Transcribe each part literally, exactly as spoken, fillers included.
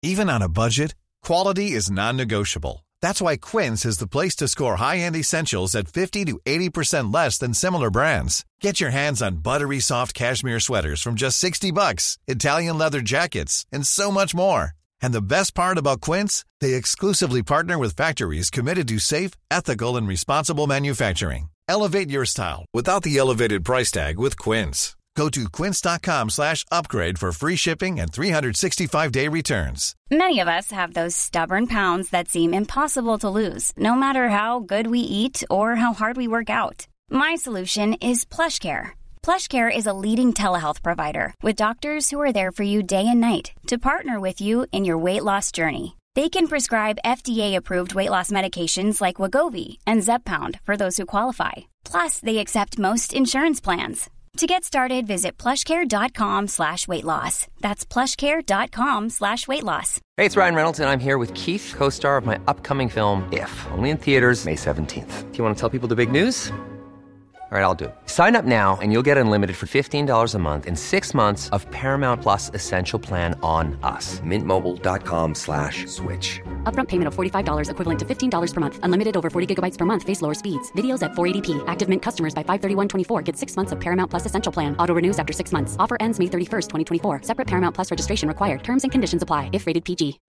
Even on a budget, quality is non-negotiable. That's why Quince is the place to score high-end essentials at fifty to eighty percent less than similar brands. Get your hands on buttery soft cashmere sweaters from just sixty bucks, Italian leather jackets, and so much more. And the best part about Quince, they exclusively partner with factories committed to safe, ethical, and responsible manufacturing. Elevate your style without the elevated price tag with Quince. Go to quince.com slash upgrade for free shipping and three sixty-five day returns. Many of us have those stubborn pounds that seem impossible to lose, no matter how good we eat or how hard we work out. My solution is PlushCare. PlushCare is a leading telehealth provider with doctors who are there for you day and night to partner with you in your weight loss journey. They can prescribe F D A-approved weight loss medications like Wegovy and Zepbound for those who qualify. Plus, they accept most insurance plans. To get started, visit plushcare.com slash weight loss. That's plushcare.com slash weight loss. Hey, it's Ryan Reynolds, and I'm here with Keith, co-star of my upcoming film, If, only in theaters May seventeenth. Do you want to tell people the big news? All right, I'll do it. Sign up now and you'll get unlimited for fifteen dollars a month and six months of Paramount Plus Essential Plan on us. Mintmobile.com slash switch. Upfront payment of forty-five dollars equivalent to fifteen dollars per month. Unlimited over forty gigabytes per month. Face lower speeds. Videos at four eighty p. Active Mint customers by five thirty-one twenty-four get six months of Paramount Plus Essential Plan. Auto renews after six months. Offer ends May thirty-first, twenty twenty-four. Separate Paramount Plus registration required. Terms and conditions apply if rated P G.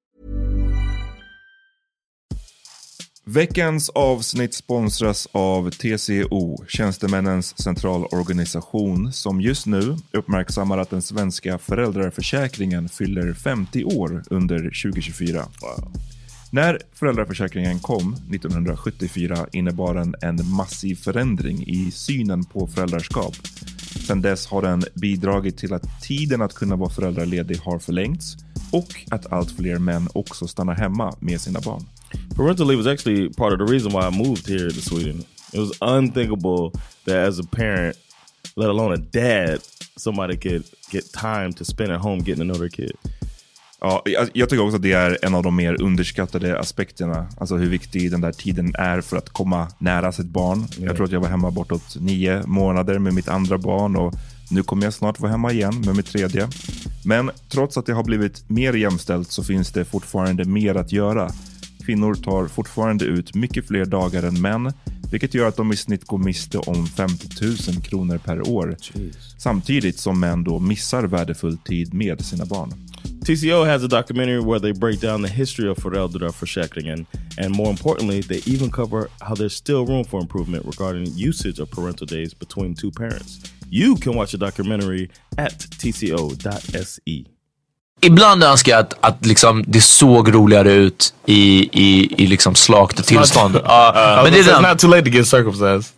Veckans avsnitt sponsras av T C O, Tjänstemännens centralorganisation, som just nu uppmärksammar att den svenska föräldraförsäkringen fyller femtio år under tjugo tjugofyra. Wow. När föräldraförsäkringen kom nittonhundrasjuttiofyra innebar den en massiv förändring i synen på föräldraskap. Sedan dess har den bidragit till att tiden att kunna vara föräldraledig har förlängts och att allt fler män också stannar hemma med sina barn. Parental leave was actually part of the reason why I moved here to Sweden. It was unthinkable that as a parent, let alone a dad, somebody could get time to spend at home getting to know their kid. Ja, jag, jag tycker också att det är en av de mer underskattade aspekterna. Alltså hur viktig den där tiden är för att komma nära sitt barn. Mm. Jag tror att jag var hemma bortåt nio månader med mitt andra barn och nu kommer jag snart vara hemma igen med mitt tredje. Men trots att det har blivit mer jämställt så finns det fortfarande mer att göra. Kvinnor tar fortfarande ut mycket fler dagar än män, vilket gör att de i snitt går miste om femtio tusen kronor per år. Jeez. Samtidigt som män då missar värdefull tid med sina barn. T C O has a documentary where they break down the history of föräldraförsäkringen, and more importantly, they even cover how there's still room for improvement regarding usage of parental days between two parents. You can watch the documentary at t c o dot s e. Ibland önskar jag att, att liksom det såg roligare ut i, i, i liksom slakt tillstånd. uh, uh, men det är not too late to get circumcised.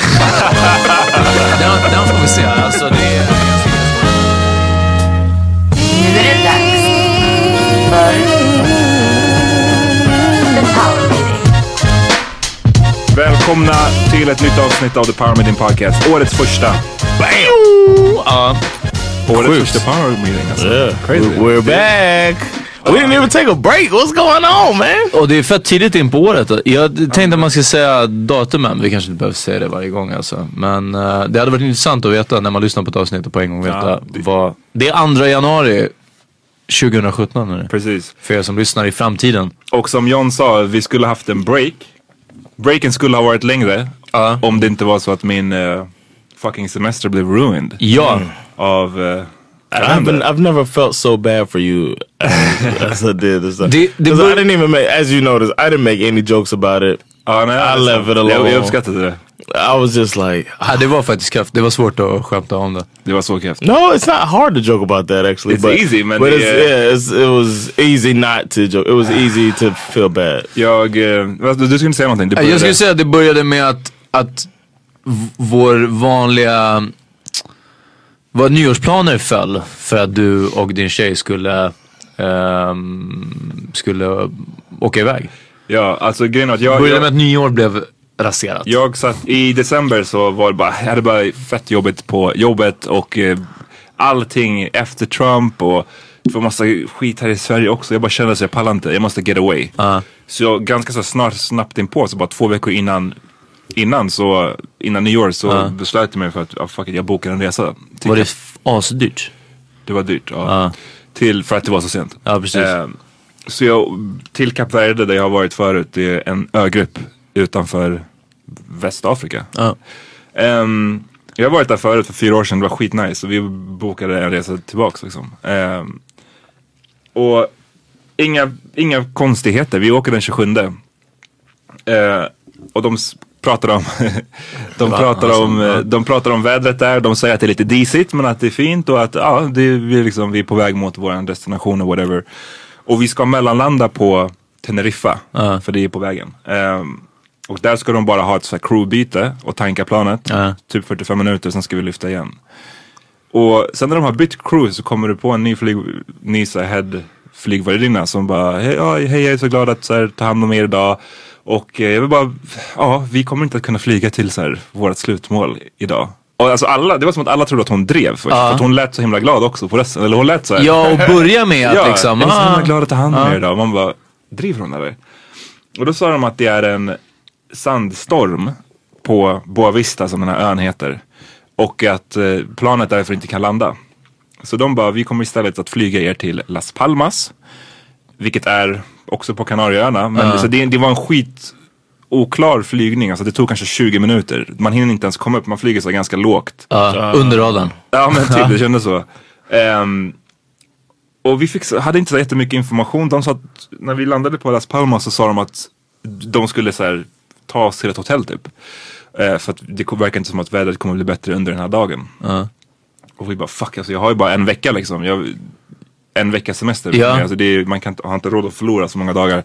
den, den får vi se. Alltså, det är... Nu är det dags för The Power Meeting. Välkomna till ett nytt avsnitt av The Power Meeting Podcast. Årets första. Bam! Ja. Årets första Power Meeting. Alltså. Yeah. Crazy. We're back. We didn't even take a break. What's going on, man? Och det är fett tidigt in på året. Jag tänkte att man ska säga datumen. Vi kanske inte behöver säga det varje gång alltså. Men uh, det hade varit intressant att veta när man lyssnar på ett avsnitt och på en gång veta ja, det... vad... Det är andra januari tjugosjutton nu. Precis. För er som lyssnar i framtiden. Och som John sa, vi skulle haft en break. Breaken skulle ha varit längre. Uh. Om det inte var så att min uh, fucking semester blev ruined. Ja. Mm. Av... Uh, I've been, I've never felt so bad for you as, as I did this time. Because I didn't even make, as you noticed, I didn't make any jokes about it. Oh, no, I left it alone. Jag uppskattade det. I was just like... Ja, det var faktiskt kraft. Det var svårt att skämta om det. Det var så kraft. No, it's not hard to joke about that actually. It's but, easy, man. But det, it's, yeah, it's, it was easy not to joke. It was easy to feel bad. Jag... Uh, du skulle säga någonting. Jag skulle säga att det började med att, att v- vår vanliga... Vad nyårsplaner föll för att du och din tjej skulle um, skulle åka iväg. Ja, alltså grejen att jag... Började jag, med att nyår blev raserat. Jag satt i december så var det bara... Jag hade bara fett jobbigt på jobbet och uh, allting efter Trump och för massa skit här i Sverige också. Jag bara kände att jag pallar inte. Jag måste get away. Uh. Så jag ganska så snart snabbt in på så bara två veckor innan... Innan så, innan nyår så uh. beslöt jag mig för att oh, fuck it, jag bokar en resa. Var det f- asdyrt? Det var dyrt, ja. Uh. Till, för att det var så sent. Ja, precis. Eh, Så jag, till Kap Verde där jag har varit förut, det är en ögrupp utanför Västafrika. Ja. Um, jag har varit där förut för fyra år sedan, det var skitnice. Och vi bokade en resa tillbaks liksom. Um, och inga, inga konstigheter, vi åker den tjugosjunde. Uh, och de pratar om de pratar alltså, om ja. de pratar om vädret där. De säger att det är lite disigt men att det är fint och att ja, det är, vi, liksom, vi är på väg mot vår destination och whatever. Och vi ska mellanlanda på Teneriffa uh. för det är på vägen. Um, och där ska de bara ha ett så här crewbyte och tanka planet. Uh. Typ fyrtiofem minuter, sen ska vi lyfta igen. Och sen när de har bytt crew så kommer du på en ny flyg, ny så här head flygvärdinna som bara hej, ja, hej jag är så glad att så här, ta hand om er idag. Och eh, jag vill bara, ja, vi kommer inte att kunna flyga till så här vårt slutmål idag. Och alltså alla, det var som att alla trodde att hon drev först, uh. för att hon lät så himla glad också på resten. Eller hon lät så här. Ja, och börja med att ja, liksom. Jag är så himla uh. glad att ta hand om uh. er idag. Man bara, driver hon eller? Och då sa de att det är en sandstorm på Boa Vista som den här ön heter. Och att eh, planet därför inte kan landa. Så de bara, vi kommer istället att flyga er till Las Palmas. Vilket är också på Kanarieöarna. Men uh. så det, det var en skit oklar flygning. Alltså det tog kanske tjugo minuter. Man hinner inte ens komma upp, man flyger så ganska lågt. Uh, uh. Under radarn. Ja men typ, det kändes så. Um, och vi fick, hade inte så jättemycket information. De sa att när vi landade på Las Palmas så sa de att de skulle så här, ta oss till ett hotell typ. Uh, för att det verkar inte som att vädret kommer bli bättre under den här dagen. Uh. Och vi bara fuck, alltså jag har ju bara en vecka liksom. Jag, en veckas semester. Ja. Alltså det är, man kan inte, har inte råd att förlora så många dagar.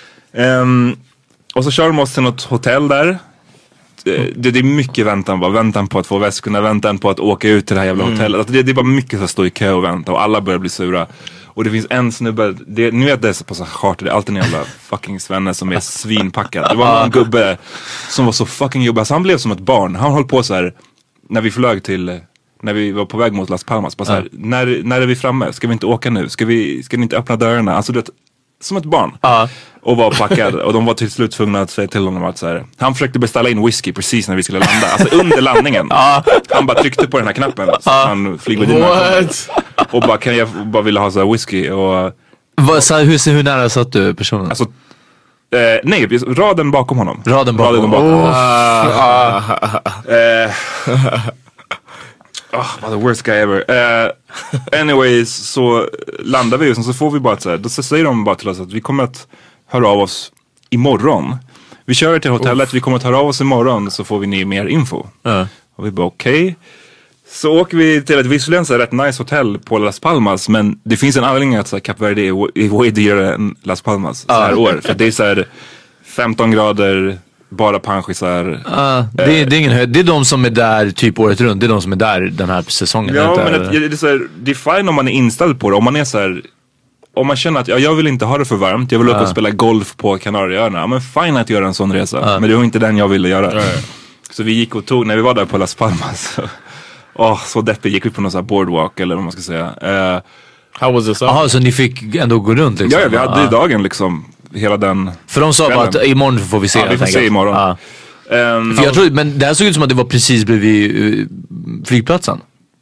Um, och så kör de oss till något hotell där. Det, det, det är mycket väntan bara. Väntan på att få väskorna, väntan på att åka ut till det här jävla mm. hotellet. Alltså det, det är bara mycket att stå i kö och vänta. Och alla börjar bli sura. Och det finns en snubbe, det, nu vet det är på så charter, det är alltid en jävla fucking svenne som är svinpackad. Det var en gubbe som var så fucking jobbig. Alltså han blev som ett barn. Han höll på så här när vi flög till... När vi var på väg mot Las Palmas. Bara så här, uh. när, när är vi framme? Ska vi inte åka nu? Ska vi, ska ni inte öppna dörrarna? Alltså du vet, som ett barn. Uh. Och var packad. Och de var till slut tvungna att säga till honom att så här, han försökte beställa in whisky precis när vi skulle landa. Alltså under landningen. Uh. Han bara tryckte på den här knappen. Så uh. han flygvärdinnan. Och bara, kan jag bara ville ha så här whisky. Och, Va, så, hur, hur nära satt du personen? Alltså, eh, nej, raden bakom honom. Raden bakom, raden bakom oh. honom. Uh, uh, Oh, the worst guy ever. Uh, anyways, så landar vi och så får vi bara så här, då säger de bara till oss att vi kommer att höra av oss imorgon. Vi kör till hotellet, Uff. vi kommer att höra av oss imorgon så får vi ni mer info. Uh. Och vi bara okej. Okay. Så åker vi till ett visserligen så här rätt nice hotell på Las Palmas, men det finns en anledning att så här, Kap Verde är way dyrare än Las Palmas uh. så här år. För det är så här femton grader... Bara panschisar. Uh, det, är, det är ingen höjd. Det är de som är där typ året runt. Det är de som är där den här säsongen. Ja, men det, det, är så här, det är fine om man är inställd på det. Om man är så här, om man känner att ja, jag vill inte ha det för varmt. Jag vill åka uh. och spela golf på Kanarieöarna. Ja, men fine att göra en sån resa. Uh. Men det var inte den jag ville göra. Uh. Så vi gick och tog, när vi var där på Las Palmas. Åh, oh, så deppigt. Gick vi på någon sån här boardwalk eller vad man ska säga. Uh, How was it? Jaha, så ni fick ändå gå runt liksom? Ja, ja vi hade uh. dagen liksom. Hela den för de sa bara att imorgon får vi se. Ja, vi får se imorgon. Ah. Um, för jag tror, men det här såg ut som att det var precis bredvid uh, flygplatsen.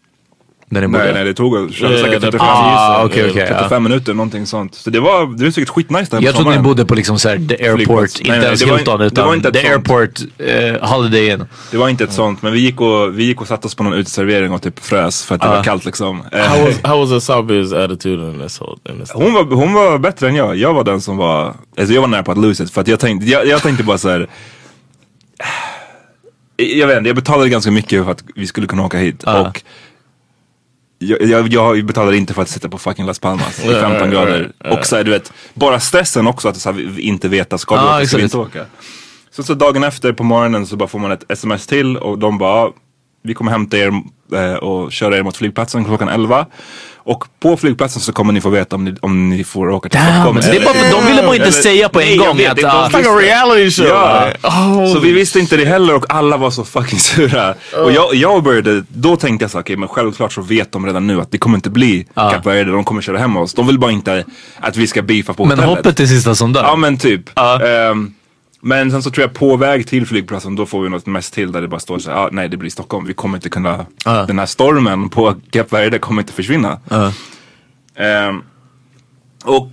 Nej, nej, det tog uh, säkert trettiofem, ah, okay, okay, trettiofem ja. minuter, någonting sånt. Så det var, det var säkert skitnice där. Jag trodde ni bodde på liksom så här, the airport, inte ens Hilton utan the airport uh, Holiday Inn. Det var inte ett sånt, men vi gick och, vi gick och satte oss på någon uteservering och typ frös för att det uh. var kallt liksom. How was, how was Asabi's attitude in this whole, in this hon, var, hon var bättre än jag. Jag var den som var, alltså jag var nära på att lose it. För att jag tänkte, jag, jag tänkte bara så här. Jag vet inte, jag betalade ganska mycket för att vi skulle kunna åka hit. Uh. Och Jag, jag, jag betalar inte för att sitta på fucking Las Palmas i femton grader. Och så här, du vet, bara stressen också att så här, inte veta ska vi ah, åka, ska vi inte åka. Så, så dagen efter på morgonen så bara får man ett sms till och de bara, vi kommer hämta er eh, och köra er mot flygplatsen klockan elva. Och på flygplatsen så kommer ni få veta om ni, om ni får åka till Stockholm. Det är bara, de ville bara inte eller, säga på en nej, gång vet, att det var uh, reality show. Ja. Oh. Så vi visste inte det heller och alla var så fucking sura. Oh. Och jag, jag började, då tänkte jag så okej, okay, men självklart så vet de redan nu att det kommer inte bli uh. Kap Verde, de kommer köra hem oss. De vill bara inte att vi ska beefa på men hotellet. Men hoppet är sista som dör. Ja men typ. Uh. Um, Men sen så tror jag på väg till flygplatsen då får vi något mest till där det bara står så här, ah, nej det blir Stockholm, vi kommer inte kunna, uh. den här stormen på Kap Verde kommer inte försvinna. Uh. Um, och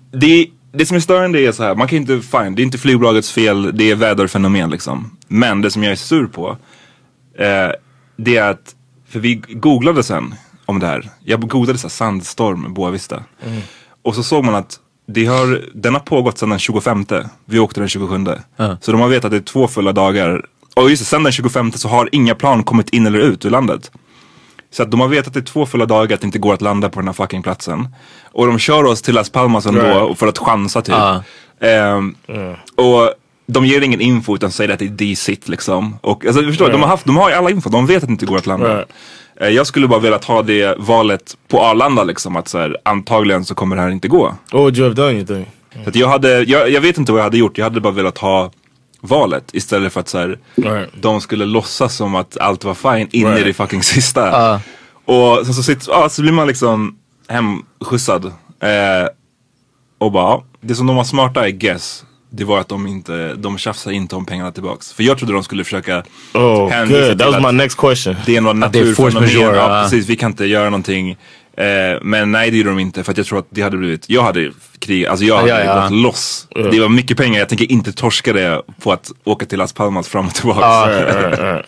det, det som är störande är så här, man kan inte, fine, det är inte flygbolagets fel, det är väderfenomen liksom. Men det som jag är sur på, eh, det är att, för vi googlade sen om det här. Jag googlade så här, sandstorm, Boa Vista. Mm. Och så såg man att det har, den har pågått sedan den tjugofemte. Vi åkte den tjugosjunde. Uh. Så de har vetat att det är två fulla dagar. Och just det, sedan den tjugofemte så har inga plan kommit in eller ut ur landet. Så att de har vetat att det är två fulla dagar att det inte går att landa på den här fucking platsen. Och de kör oss till Las Palmas ändå right. för att chansa typ. Uh. Um, uh. Och de ger ingen info utan säger att det är D-sit liksom. Och alltså, förstår right. de har haft, de har alla info, de vet att det inte går att landa. Right. Jag skulle bara vilja ha det valet på Arlanda liksom, att så här, antagligen så kommer det här inte gå. Oh, would you have done anything? Mm. Så att jag hade, jag, jag vet inte vad jag hade gjort. Jag hade bara velat ha valet istället för att så här, right. de skulle låtsas som att allt var fine in right. i det fucking sista. Uh. Och så, så, sitter, ah, så blir man liksom hemskjutsad. Eh, och bara, det som de var smarta I guess, det var att de inte, de tjafsade inte om pengarna tillbaks. För jag trodde de skulle försöka oh, hänvisa till that was my next question. Det är något naturfenomen. Ja, precis, vi kan inte göra någonting. Eh, men nej, det gjorde de inte. För att jag tror att det hade blivit, jag hade krig, alltså jag hade ja, ja. gått loss. Uh. Det var mycket pengar, jag tänker inte torska det på att åka till Las Palmas fram och tillbaka. Uh, uh, uh.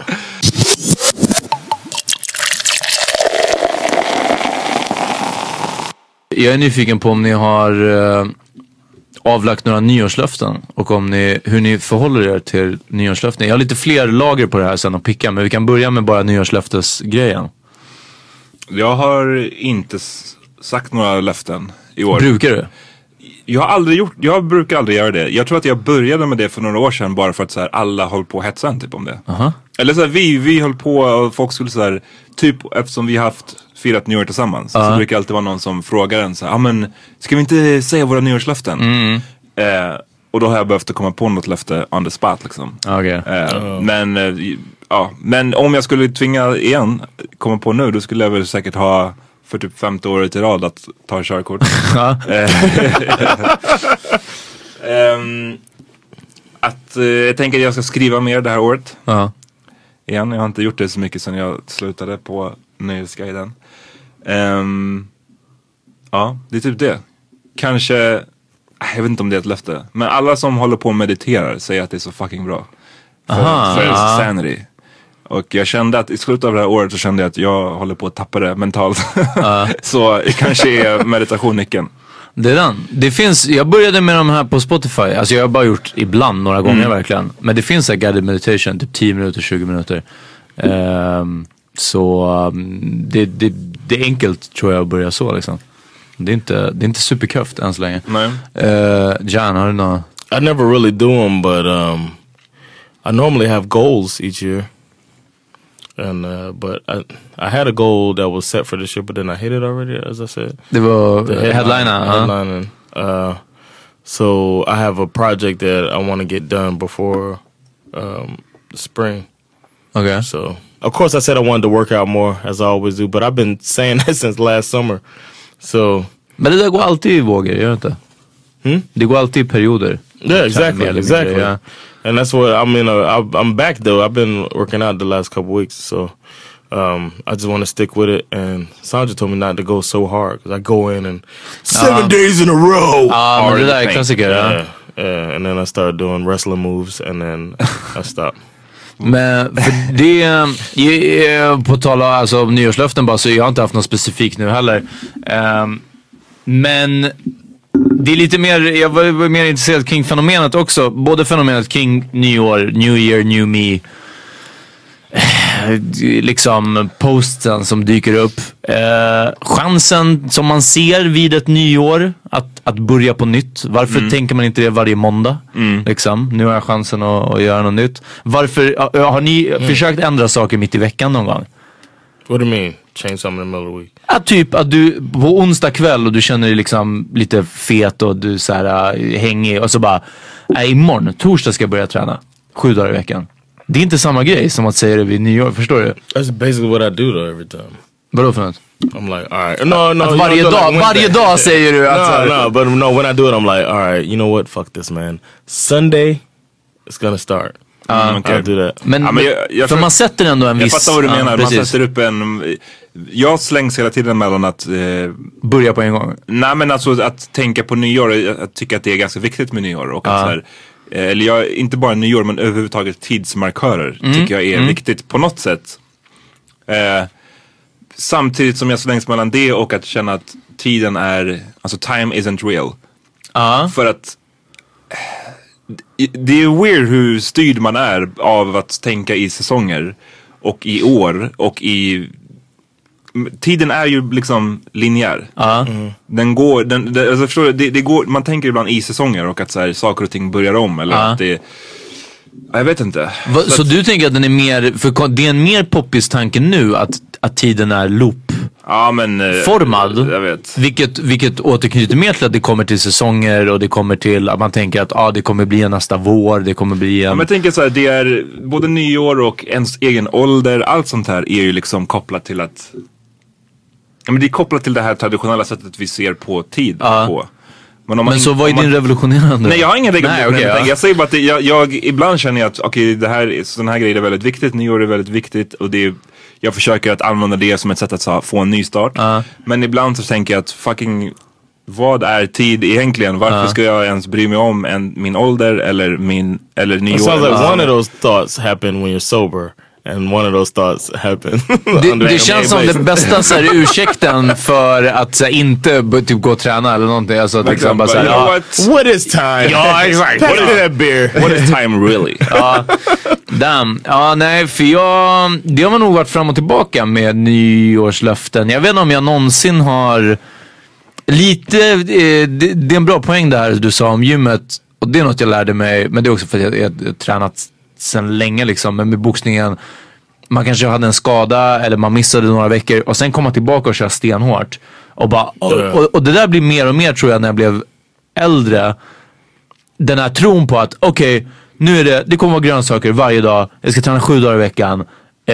Jag är nyfiken på om ni har uh, avlagt några nyårslöften och om ni, hur ni förhåller er till nyårslöften. Jag har lite fler lager på det här sen att picka, men vi kan börja med bara nyårslöftesgrejen. Jag har inte s- sagt några löften i år. Brukar du? Jag har aldrig gjort, jag brukar aldrig göra det. Jag tror att jag började med det för några år sedan bara för att så här, alla höll på att hetsa en typ om det. Uh-huh. Eller så här, vi, vi höll på och folk skulle så här, typ eftersom vi har haft firat nyår tillsammans uh-huh. så brukar det alltid vara någon som frågar en så här, ja ah, men ska vi inte säga våra nyårslöften? Mm. Eh, och då har jag behövt komma på något löfte on the spot liksom. Okay. Eh, uh-huh. Men eh, ja, men om jag skulle tvinga igen komma på nu, då skulle jag väl säkert ha för typ femte året i rad att ta körkort. um, att uh, jag tänker att jag ska skriva mer det här året. Uh-huh. Igen, jag har inte gjort det så mycket sedan jag slutade på Nöjesguiden. Um, ja, det är typ det. Kanske, jag vet inte om det är ett löfte, men alla som håller på och mediterar säger att det är så fucking bra. För, Aha, för uh-huh. sanity. Och jag kände att i slutet av det här året så kände jag att jag håller på att tappa det mentalt. Uh. Så kanske är meditation nyckeln. Det är den. Det finns, jag började med de här på Spotify. Alltså jag har bara gjort ibland några gånger mm. verkligen. Men det finns en guided meditation, typ tio minuter, tjugo minuter. Um, så um, det, det, det är enkelt tror jag att börja så liksom. Det är inte, det är inte superköft än så länge. Nej. Uh, Jan, har du något? I never really do them, but um, I normally have goals each year. And uh, but I I had a goal that was set for this year, but then I hit it already, as I said. Det var the headline, headliner, huh? headlining. Uh, so I have a project that I want to get done before um, the spring. Okay. So of course I said I wanted to work out more, as I always do, but I've been saying that since last summer. So. Men det där går alltid i vågor, gör det inte? Hmm? Det går alltid i perioder. Yeah, exactly, exactly. Yeah. And that's what I mean. Uh, I, I'm back though. I've been working out the last couple weeks, so um, I just want to stick with it. And Sandra told me not to go so hard because I go in and seven uh, days in a row. Ah, uh, men det där är klassiker. Yeah, yeah. And then I started doing wrestling moves, and then I stopped. Men för det, på tal om alltså, nyårslöften bara, så jag har inte haft något specifikt nu heller. Um, men det är lite mer, jag var mer intresserad kring fenomenet också. Både fenomenet kring nyår, new year, new me. Liksom posten som dyker upp. Eh, chansen som man ser vid ett nyår att, att börja på nytt. Varför mm. tänker man inte det varje måndag? Mm. Liksom, nu har jag chansen att, att göra något nytt. Varför, har ni mm. försökt ändra saker mitt i veckan någon gång? What do you mean? Change something in the middle of the week? Ja, typ att du på onsdag kväll och du känner dig liksom lite fet och du så här uh, hängig och så bara, nej, imorgon, torsdag ska jag börja träna. Sju dagar i veckan. Det är inte samma grej som att säga det vid nyår, förstår du? That's basically what I do though every time. Vadå för något? I'm like, all right. No, no. Att varje dag, like varje dag säger du att... No, no, but no, when I do it I'm like, all right, you know what, fuck this man. Sunday, it's gonna start. Mm, okay. I'll do that. Men, ja, men jag, jag för man sätter ändå en jag viss... Jag fattar vad du menar, ja, man sätter upp en... jag slängs hela tiden mellan att eh, börja på en gång. Nej, men alltså att tänka på nyår, jag tycker att det är ganska viktigt med nyår och att Ja. så här, eh, eller jag, inte bara nyår men överhuvudtaget tidsmarkörer Mm. tycker jag är Mm. viktigt på något sätt. Eh, samtidigt som jag slängs mellan det och att känna att tiden är, alltså time isn't real. Ja. För att det är weird hur styrd man är av att tänka i säsonger och i år och i tiden är ju liksom linjär. Ja. Den går, den, det, alltså förstår du, det, det går, man tänker ibland i säsonger och att så här, saker och ting börjar om eller Ja. att det, jag vet inte. Va, så så att, du tänker att den är mer, för det är en mer poppis tanke nu att, att tiden är loop ja, men, eh, formad. Jag vet. Vilket, vilket återknyter mer till att det kommer till säsonger och det kommer till att man tänker att ah, det kommer bli en nästa vår, det kommer bli en... Ja, men jag tänker så här, det är både nyår och ens egen ålder, allt sånt här är ju liksom kopplat till att, ja, men det är kopplat till det här traditionella sättet vi ser på tid Ja. på. Men, om man Men så in- vad är om man- din revolutionerande? Nej, jag har ingen revolutionerande Nej, okej, tanke. ja. Jag säger bara att det, jag, jag ibland känner jag att okej, det här, sån här grejer är väldigt viktigt, nyår är väldigt viktigt och det är, jag försöker att använda det som ett sätt att så, få en ny start. Ja. Men ibland så tänker jag att fucking, vad är tid egentligen? Varför Ja. ska jag ens bry mig om en, min ålder eller min, eller nyår? It sounds like eller- one of those thoughts happen when you're sober. And one of those thoughts happen. Det, det känns som den bästa så här, ursäkten för att så här, inte b- typ, gå och träna eller någonting. Alltså, att liksom, bara, så här, You know ja, what? What is time? Ja, exakt. Pass me that beer. What is time really? ja, damn. Ja, nej, för jag, det har nog varit fram och tillbaka med nyårslöften. Jag vet inte om jag någonsin har lite, eh, det, det är en bra poäng där du sa om gymmet. Och det är något jag lärde mig, men det är också för att jag, jag, jag har tränat sedan länge liksom. Men med boxningen, man kanske hade en skada eller man missade några veckor och sen komma tillbaka och köra stenhårt. Och, bara, och, och, och det där blir mer och mer tror jag när jag blev äldre. Den här tron på att okej, okay, nu är det, det kommer vara grönsaker varje dag. Jag ska träna sju dagar i veckan.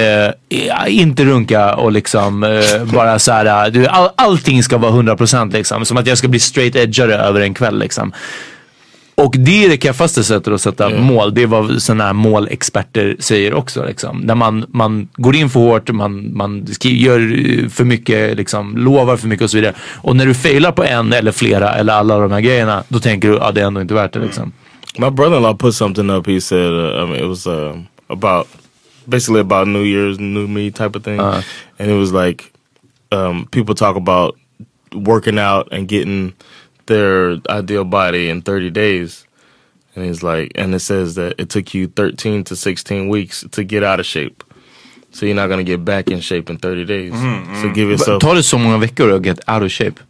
Eh, inte runka och liksom eh, bara så här, du, all, allting ska vara hundra procent liksom. Som att jag ska bli straight edgare över en kväll liksom. Och det är det kaffaste sättet att sätta Mm. mål. Det är vad sådana här målexperter säger också liksom. När man, man går in för hårt, man, man skri- gör för mycket, liksom, lovar för mycket och så vidare. Och när du failar på en eller flera eller alla de här grejerna, då tänker du att ah, det är ändå inte värt det liksom. My brother-in-law put something up. He said, uh, I mean, it was uh, about basically about New Year's, New Me type of thing, Uh. and it was like um, people talk about working out and getting their ideal body in thirty days, and he's like, and it says that it took you thirteen to sixteen weeks to get out of shape, so you're not gonna get back in shape in thirty days. So give yourself Tar det så många veckor att get out of shape?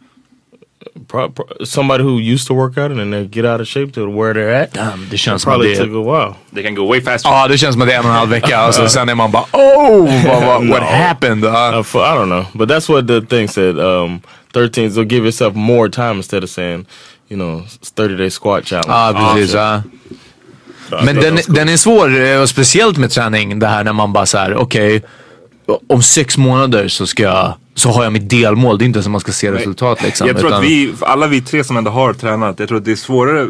pro- pro- somebody who used to work out and then they get out of shape to where they're at. Damn, det känns It som att probably det took a while. They can go way faster. Ja, det känns som att det är en och en halv vecka. Alltså, sen är man bara, oh, what, what, what No. happened? Uh, Uh, for, I don't know, but that's what the thing said. Um, thirteen, so give yourself more time instead of saying, you know, thirty day squat challenge. Ja, precis. Option. Ja. So I Men thought den, that was cool. den är svår, eh, och speciellt med träning. Det här när man bara så här, okej, om sex månader så ska jag, så har jag mitt delmål. Det är inte som man ska se resultat liksom. Jag tror utan, att vi, alla vi tre som ändå har tränat, jag tror att det är svårare.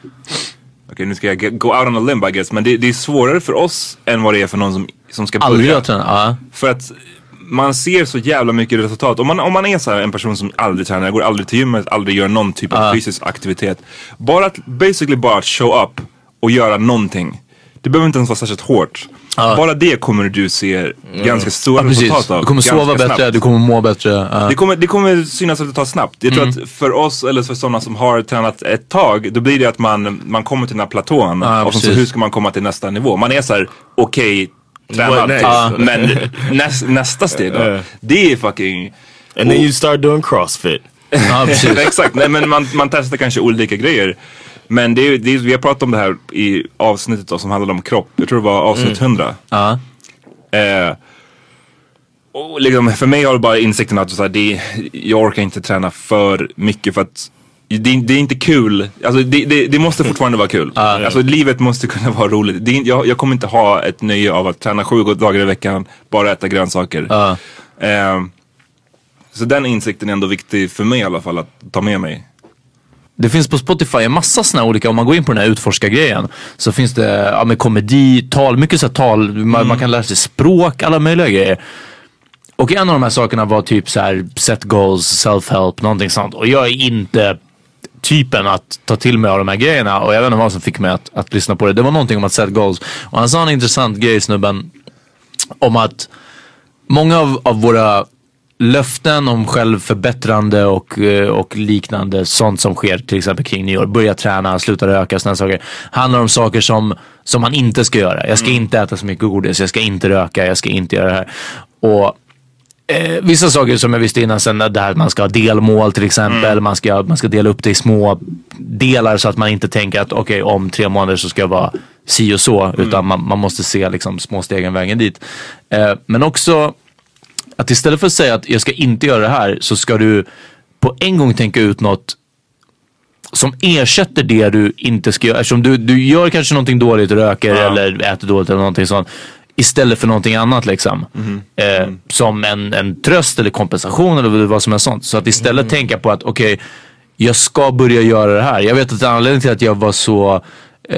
Okej, nu ska jag get, go out on a limb I guess. Men det, det är svårare för oss än vad det är för någon som, som ska aldrig börja. har tränat. Ja. För att man ser så jävla mycket resultat. Om man, om man är så här en person som aldrig tränar, går aldrig till gymmet, aldrig gör någon typ av fysisk aktivitet. Bara att, basically bara att show up och göra någonting. Det behöver inte ens vara särskilt hårt. Bara det kommer du se ganska stora Ja, precis. resultat av. Du kommer sova ganska bättre, snabbt. du kommer må bättre. Ja. Det kommer, det kommer synas resultat snabbt. Jag tror Mm. att för oss, eller för sådana som har tränat ett tag, då blir det att man, man kommer till den här platån. Ja, och så, så precis. hur ska man komma till nästa nivå? Man är så här, okej, tränad. What next? Ja. Men näs, nästa steg då, Ja. det är fucking... And then you start doing CrossFit. Ja, precis. Exakt, nej, men man, man testar kanske olika grejer. Men det är, det är, vi har pratat om det här i avsnittet då, som handlade om kropp. Jag tror det var avsnitt hundra. Ja. Eh, och liksom, för mig har det bara insikten att så här, det, jag orkar inte träna för mycket för att det, det är inte kul. Alltså, det, det, det måste fortfarande vara kul. Alltså, livet måste kunna vara roligt. Det är, jag, jag kommer inte ha ett nöje av att träna sju dagar i veckan, bara äta grönsaker. Ja. Eh, så den insikten är ändå viktig för mig i alla fall att ta med mig. Det finns på Spotify en massa såna olika, om man går in på den här utforska-grejen så finns det ja, med komedi, tal, mycket så här tal, man, man kan lära sig språk, alla möjliga grejer. och en av de här sakerna var typ så här set goals, self-help, någonting sånt. Och jag är inte typen att ta till mig av de här grejerna. Och jag vet inte vad som fick mig att, att lyssna på det. Det var någonting om att set goals. Och han sa en intressant grej, snubben, om att många av, av våra löften om självförbättrande och, och liknande, sånt som sker till exempel kring nyår, börja träna, sluta röka, sådana saker, handlar om saker som, som man inte ska göra. Jag ska mm. inte äta så mycket godis, jag ska inte röka, jag ska inte göra det här. Och eh, vissa saker som jag visste innan sen, där man ska ha delmål till exempel, mm. man, ska, man ska dela upp det i små delar så att man inte tänker att okej, okay, om tre månader så ska jag vara si och så, mm. utan man, man måste se liksom små stegen vägen dit. Eh, men också att istället för att säga att jag ska inte göra det här, så ska du på en gång tänka ut något som ersätter det du inte ska göra. Eftersom du, du gör kanske någonting dåligt, röker ja. eller äter dåligt eller någonting sånt, istället för någonting annat liksom. Mm. Eh, mm. Som en, en tröst eller kompensation eller vad som är sånt. Så att istället mm. tänka på att okej, okay, jag ska börja göra det här. Jag vet att anledningen till att jag var så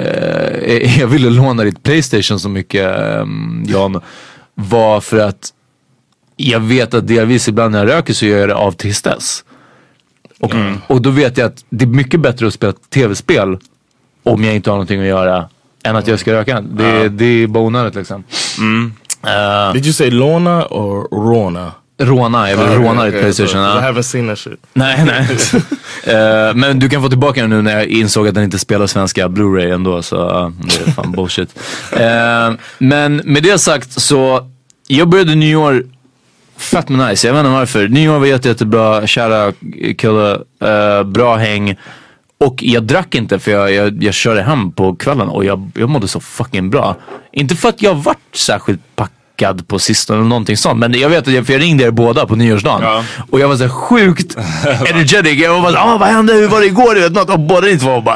eh, jag ville låna ditt PlayStation så mycket, eh, Jan, var för att jag vet att delvis ibland när jag röker så gör jag det av tristess. Och, mm. och då vet jag att det är mycket bättre att spela tv-spel om jag inte har någonting att göra än att jag ska röka. Det, uh. det är bara onödigt liksom. Mm. Uh, Did you say låna or råna? Råna, jag vill okay, råna ditt okay, PlayStation. So, uh. I haven't seen that shit. Nej, nej. uh, men du kan få tillbaka den nu när jag insåg att den inte spelar svenska Blu-ray ändå. Så uh, det är fan bullshit. Uh, men med det sagt så, jag började nyår fett med nice, jag vet inte varför. Nyår var jätte, jättebra, kära kille, uh, bra häng. Och jag drack inte för jag, jag, jag körde hem på kvällen och jag, jag mådde så fucking bra. Inte för att jag varit särskilt packad på sistone eller någonting sånt, men jag vet att jag, för jag ringde er båda på nyårsdagen. Ja. Och jag var så sjukt energetic. Jag var bara, ah, vad hände, hur var det igår? Du vet, något. Och båda inte var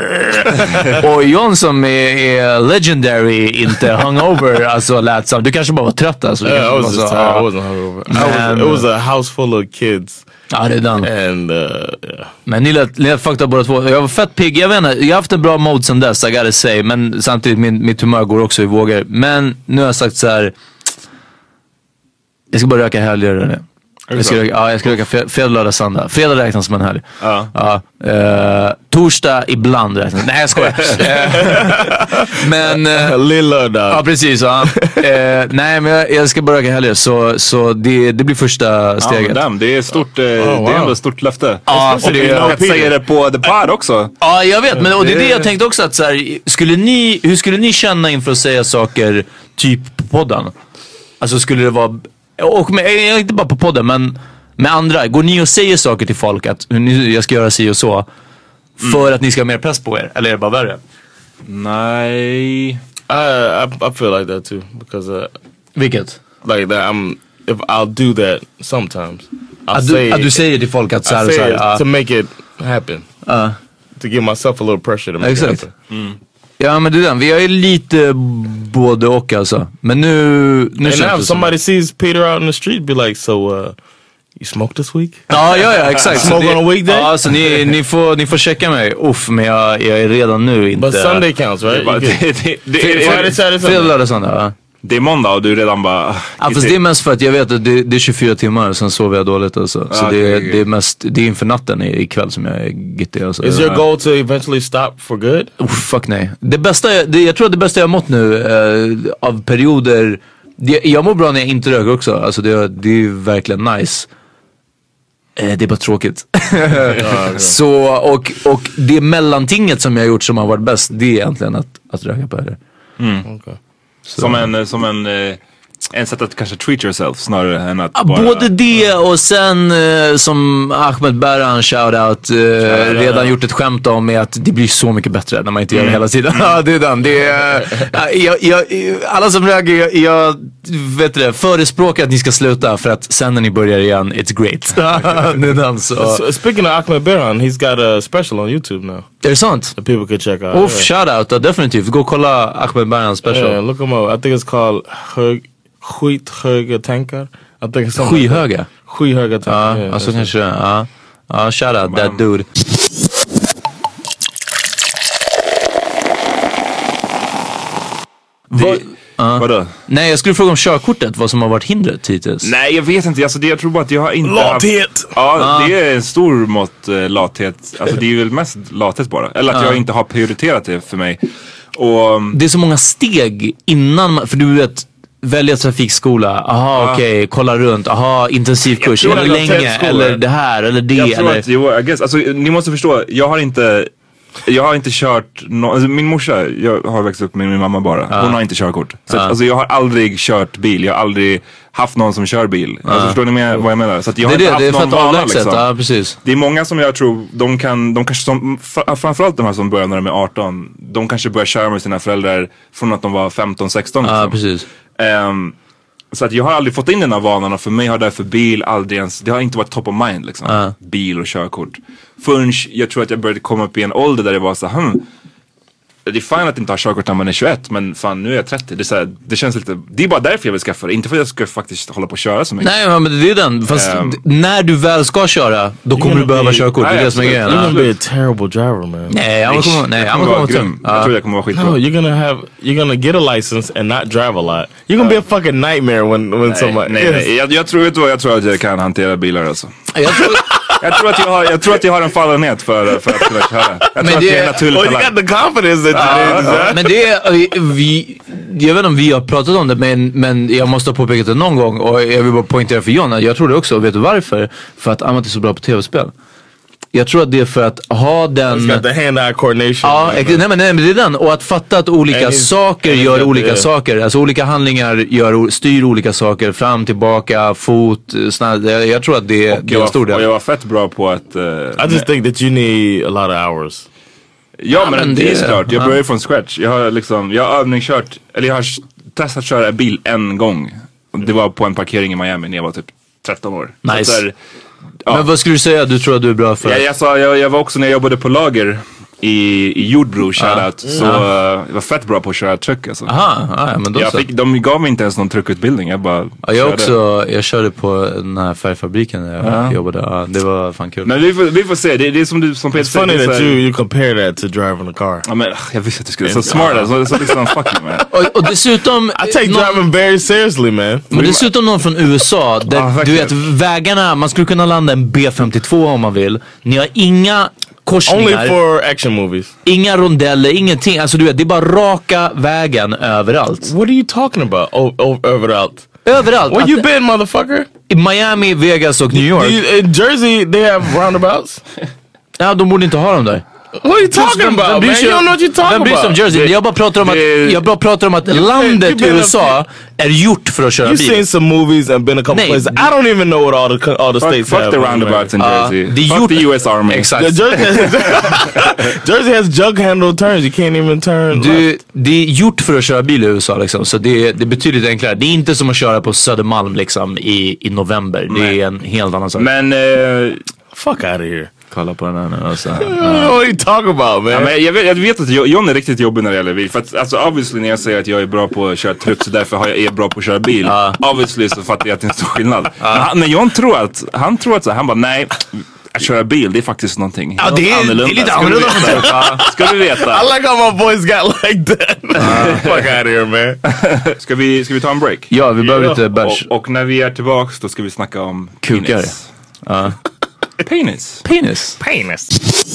bara och John som är, är legendary, inte hungover, alltså lät som, du kanske bara var trött alltså. Yeah, I was just tired, I wasn't hungover. I was, it was a house full of kids. Ja, det är den. And, uh, yeah. Men ni lät, ni lät fucked up båda två. Jag var fett pigg, jag vet inte, jag har haft en bra mode sen dess, I gotta say. Men samtidigt, min, mitt humör går också i vågor. Men nu har jag sagt så här: jag ska bara röka helger. Jag ska röka, ja, jag ska röka fredag, lördag, söndag. Fredag räknas som en helg. Ja. Ja, uh, torsdag ibland räknas. Nej, jag skojar. Men uh, lillördag. Ja, precis. Ja. Uh, nej, men jag, jag ska bara röka helger. Så, så det, det blir första steget. Ja, det är stort, uh, oh, wow. Det är ändå ett stort löfte. Ja, för det är säger det på The Pod också. Ja, jag vet. Men och det är det jag tänkte också, att så här, skulle ni, hur skulle ni känna inför att säga saker typ på podden? Alltså skulle det vara, och med, inte bara på podden, men med andra, går ni och säger saker till folk att jag ska göra si och så för mm. att ni ska ha mer press på er, eller är det bara värre? Nej, I, I, I feel like that too, because uh, vilket? Like that, I'm, if I'll do that sometimes. I'll att, say du, att du säger till folk att så här, I say så här, it uh, to make it happen, uh. to give myself a little pressure to make exakt. it happen. Mm. Ja, men det är den. Vi är lite både och alltså. Men nu, nu and now if somebody sees Peter out in the street, be like, so uh, you smoke this week? Ja, ja, ja, exakt. Smoke det, on a weekday? Ja, så ni, ni, får, ni får checka mig. Uff, men jag, jag är redan nu inte... But Sunday counts, right? Fredag, lördag, söndag, ja. Det är måndag och du redan bara... Ja, fast det är mest för att jag vet att det, det är tjugofyra timmar, sen sover jag dåligt alltså. Så ah, det, okay, okay. det är mest, det är inför natten ikväll som jag är gittig alltså. Is your goal to eventually stop for good? Oh, fuck nej. Det bästa, det, jag tror att det bästa jag har mått nu eh, av perioder, det, jag mår bra när jag inte röker också. Alltså det, det är verkligen nice. Eh, det är bara tråkigt. Ja, okay. Så, och, och det mellantinget som jag har gjort som har varit bäst, det är egentligen att, att röka på det. Mm. Okay. Som en, som en, en sätt att kanske treat yourself snarare än att ja, bara... Både det och sen eh, som Ahmed Berhan shoutout eh, redan gjort ett skämt om med att det blir så mycket bättre när man inte gör det hela tiden. Ja, det är den. Det är, äh, jag, jag, alla som röker, jag, jag vet det, förespråkar att ni ska sluta för att sen när ni börjar igen, it's great. Det är den, så. So, speaking of Ahmed Berhan, he's got a special on YouTube now. Är det sant? That people could check out. Uff, yeah. Shoutout, uh, definitivt. Gå och kolla Ahmed Berhans special. Yeah, look him up. I think it's called hög, Skithöga tankar. I think it's Skyhöga? Skyhöga tankar. Ja, yeah, alltså kanske, ja. Ja, shoutout, that dude. Det, Uh. Vadå? Nej, jag skulle fråga om körkortet, vad som har varit hindret hittills. Nej, jag vet inte. Alltså, det, jag tror bara att jag har inte Lathet! haft... Ja, Uh. det är en stor mått uh, lathet. Alltså det är väl mest lathet bara. Eller att Uh. jag inte har prioriterat det för mig. Och... Det är så många steg innan man, för du vet, välja trafikskola, aha Ja. okej, okay, kolla runt, aha intensivkurs, Jag tror eller att jag har länge, tält eller skolor. det här, eller det, Jag tror eller... att, jo, I guess, alltså ni måste förstå, jag har inte Jag har inte kört, no, alltså, min morsa, jag har växt upp med min mamma bara. Hon Ja. har inte körkort. Så Ja. att, alltså, jag har aldrig kört bil, jag har aldrig haft någon som kör bil. Alltså, förstår ni med, vad jag menar? Så att jag Det har är inte det, det är haft för någon att vana avlägset, liksom. ja precis. Det är många som jag tror, de kan, de kanske som, framförallt de här som börjar när de är arton, de kanske börjar köra med sina föräldrar från att de var femton sexton liksom. Ja precis. Um, så att jag har aldrig fått in den här vanan och för mig har därför bil aldrig ens, det har inte varit top of mind liksom. Ja. Bil och körkort. Förrän jag tror att jag började komma upp i en ålder där det var så här, hmm, det är fint att inte ha körkort när man är tjugoett, men fan nu är jag trettio. Det är så här, det känns lite, det är bara därför jag vill skaffa det. Inte för att jag ska faktiskt hålla på och köra så mycket. Nej men det är den, fast Um, d- när du väl ska köra, då kommer gonna du behöva be- körkort, det är Nej, det som är absolut. grejen. You're Ja. gonna be a terrible driver, man. Nej, jag kommer, nej, jag jag kommer kommer vara komma grym. till. Jag tror jag kommer vara skitbra. No, you're gonna have, you're gonna get a license and not drive a lot. You're gonna be a fucking nightmare when when Nej, somebody. nej, nej. Jag, jag, tror, vet du vad, jag tror att jag kan hantera bilar alltså. Jag tror, Jag tror att jag har, jag tror att jag har en fallenhet för, för att kunna köra. Jag tror Men att det- det är en naturlig Oh, you talang. got the confidence that you did. men det är, vi, jag vet inte om vi har pratat om det, men, men jag måste ha påpekat det någon gång och jag vill bara poängtera för John, jag tror det också, och vet du varför? För att Amat är så bra på tv-spel. Jag tror att det är för att ha den... He's got the hand-eye coordination. Ja, like, ex- nej, men, nej men det är den. Och att fatta att olika And he's- saker and he's gör got olika the- saker. Alltså olika handlingar gör, o- styr olika saker. Fram, tillbaka, fot, snabb. Jag, jag tror att det, är- Och det är jag, en stor var, och del. jag var fett bra på att... Uh, I just think that you need a lot of hours. Ja, men, men det, det- är såklart. Jag ja. börjar från scratch. Jag har liksom, jag har övningskört, eller jag har s- testat köra bil en gång. Det var på en parkering i Miami när jag var typ tretton år. Nice. Så att där, ja. Men vad skulle du säga du tror att du är bra för? jag, jag, sa, jag, jag var också när jag jobbade på lager i, i Jordbro, shoutout. Så uh, jag var fett bra på att köra truck alltså. Aha, ja, men då Jag så. fick, de gav mig inte ens någon truckutbildning. Jag bara Ja, jag körde. också, jag körde på den här färgfabriken när jag Ja. jobbade. Ja, det var fan kul. Men vi får, vi får se. Det, det är som du som Peter It's funny det är så that här- you you compare that to driving a car. Ja, men, jag visste att du skulle. Så smart alltså. Så liksom fuck you man. Och, och dessutom... I take någon- driving very seriously, man. Men dessutom någon från U S A, där, Ja, du vet verkligen. vägarna, man skulle kunna landa en B femtiotvå om man vill. Ni har inga Only korsningar, for action movies. inga rondeller, ingenting. Alltså du vet, det är bara raka vägen överallt. What are you talking about? Oh, oh overallt. Överallt. Where Att- you been, motherfucker? I Miami, Vegas och New Do York. you, in Jersey, they have roundabouts. Ja, de borde inte ha dem där. What are you talking Vem about, bryr man? sig You don't om- know what you're talking Vem bryr sig om about. Jersey? Jag bara pratar om att, det- jag bara pratar om att been- landet you've been U S A är gjort för att köra You've bil. seen some movies and been a couple Nej. places. I don't even know what all the co- all the Fuck, states fuck have. the roundabouts in Ja, Jersey. det är Fuck gjort- the U S Army. Exakt. Yeah, Jersey, Jersey has jug handle turns. You can't even turn. Du, left. det är gjort för att köra bil i U S A liksom, så det, det är betydligt enklare. Det är inte som att köra på Södermalm liksom i, i november. Det Nej. är en helt annan sak. Men, eh, Fuck out of here. Kolla på den här nu. Alltså. What are you talking about, man? ja, men jag, vet, jag vet att John är riktigt jobbig när det gäller bil. För att, alltså obviously när jag säger att jag är bra på att köra truck så därför har jag, är jag bra på att köra bil. Ja. Obviously så fattar jag att det är en stor skillnad. Men, han, men John tror att, han tror att så här, han bara nej, att köra bil det är faktiskt någonting Ja, det är- annorlunda. det är lite Ska du annorlunda veta. från truck. Ja, ska du veta. I like how my voice got like that. Fuck out of here, man. Ska vi, ska vi ta en break? Ja, vi behöver Ja. lite bärs. Och, och när vi är tillbaks då ska vi snacka om Kukar. penis. Ja. Penis. Penis. Penis.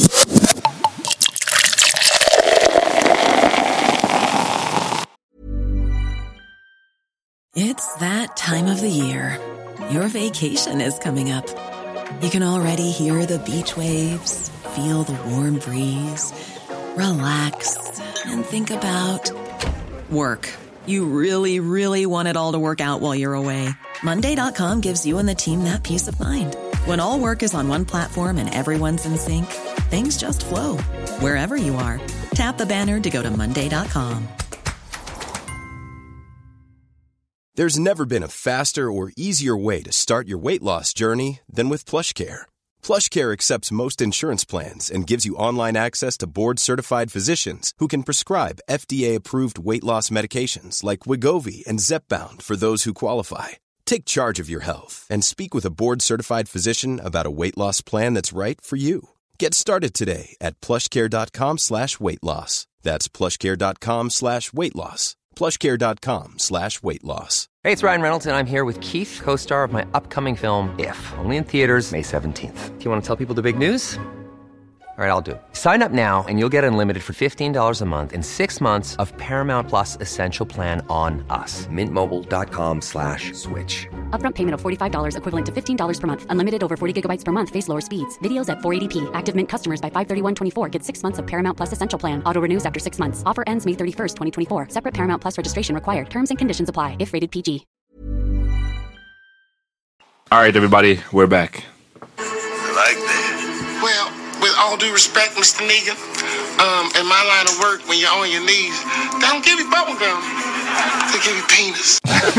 It's that time of the year. Your vacation is coming up. You can already hear the beach waves, feel the warm breeze, relax, and think about work. You really, really want it all to work out while you're away. Monday dot com gives you and the team that peace of mind. When all work is on one platform and everyone's in sync, things just flow. Wherever you are, tap the banner to go to Monday dot com. There's never been a faster or easier way to start your weight loss journey than with PlushCare. PlushCare accepts most insurance plans and gives you online access to board-certified physicians who can prescribe F D A-approved weight loss medications like Wegovy and Zepbound for those who qualify. Take charge of your health and speak with a board-certified physician about a weight loss plan that's right for you. Get started today at plushcare.com slash weight loss. That's plushcare.com slash weight loss. plushcare.com slash weight loss. Hey, it's Ryan Reynolds, and I'm here with Keith, co-star of my upcoming film, If, only in theaters May seventeenth. Do you want to tell people the big news? All right, I'll do it. Sign up now and you'll get unlimited for fifteen dollars a month and six months of Paramount Plus Essential Plan on us. Mint Mobile dot com slash switch. Upfront payment of forty-five dollars equivalent to fifteen dollars per month. Unlimited over forty gigabytes per month. Face lower speeds. Videos at four eighty p. Active Mint customers by five thirty-one twenty-four get six months of Paramount Plus Essential Plan. Auto renews after six months. Offer ends May thirty-first, twenty twenty-four. Separate Paramount Plus registration required. Terms and conditions apply if rated P G. All right, everybody, we're back. I like that. Well, with all due respect, Mister Negan, um, in my line of work, when you're on your knees, they don't give you bubble gum. They give you penis.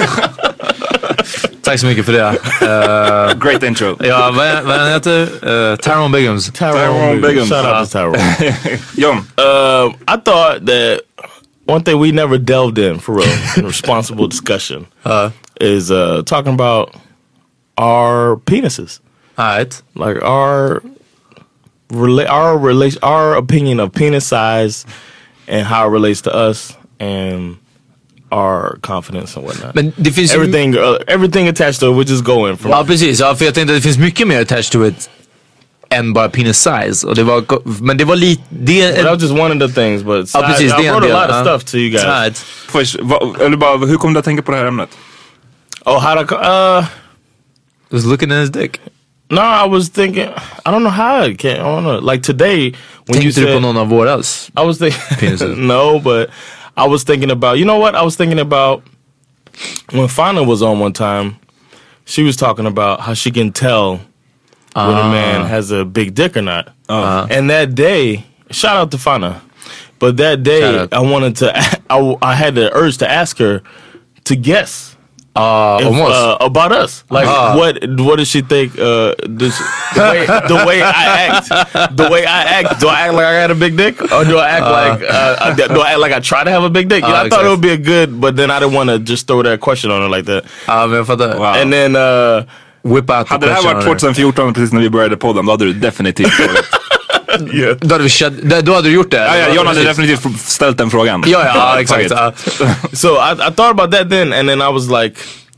Tack så mycket för det. Uh, Great intro. Ja, vad, vad heter uh, Tyrone Biggums. Tyrone Biggums. Shout out to Tyrone. John. Uh, I thought that one thing we never delved in, for real, in responsible discussion, uh, is uh, talking about our penises. Alright. Like our... Rela- our relation, our opinion of penis size and how it relates to us and our confidence and whatnot. Men det finns everything, uh, everything attached to it, we're just going from. Ja, precis. Ja, för jag tänkte att det finns mycket mer attached to it än bara penis size. Och det var, men det var lite... Det well, that was just one of the things, but size, ja, precis, I wrote del, a lot uh, of stuff to you guys. Right. Först, va, eller bara, hur kom du att tänka på det här ämnet? Oh, how to... Uh, was looking at his dick. No, I was thinking, I don't know how it came. I don't know. Like today, when Tänkte you said, du på någon av våras? I was thinking, no, but I was thinking about, you know what? I was thinking about when Fana was on one time, she was talking about how she can tell uh, when a man has a big dick or not. Uh, and that day, shout out to Fana, but that day I wanted to, I, I had the urge to ask her to guess. Uh, if, almost uh, about us, like uh, what what does she think? Uh, does, the, way, the way I act, the way I act, do I act like I got a big dick, or do I act uh, like uh, do I act like I try to have a big dick? You know, uh, I thought exactly. It would be a good, but then I didn't want to just throw that question on her like that. Ja, men för det. Wow. And then uh, whip out. Hade det här varit tjugo fjorton precis när vi började podden, då hade du definitivt frågat. Yeah. Då, hade vi, då hade du gjort det. Ja, ja, John hade definitivt ställt den frågan. Ja, ja, exakt. So I, I thought about that then, and then I was like,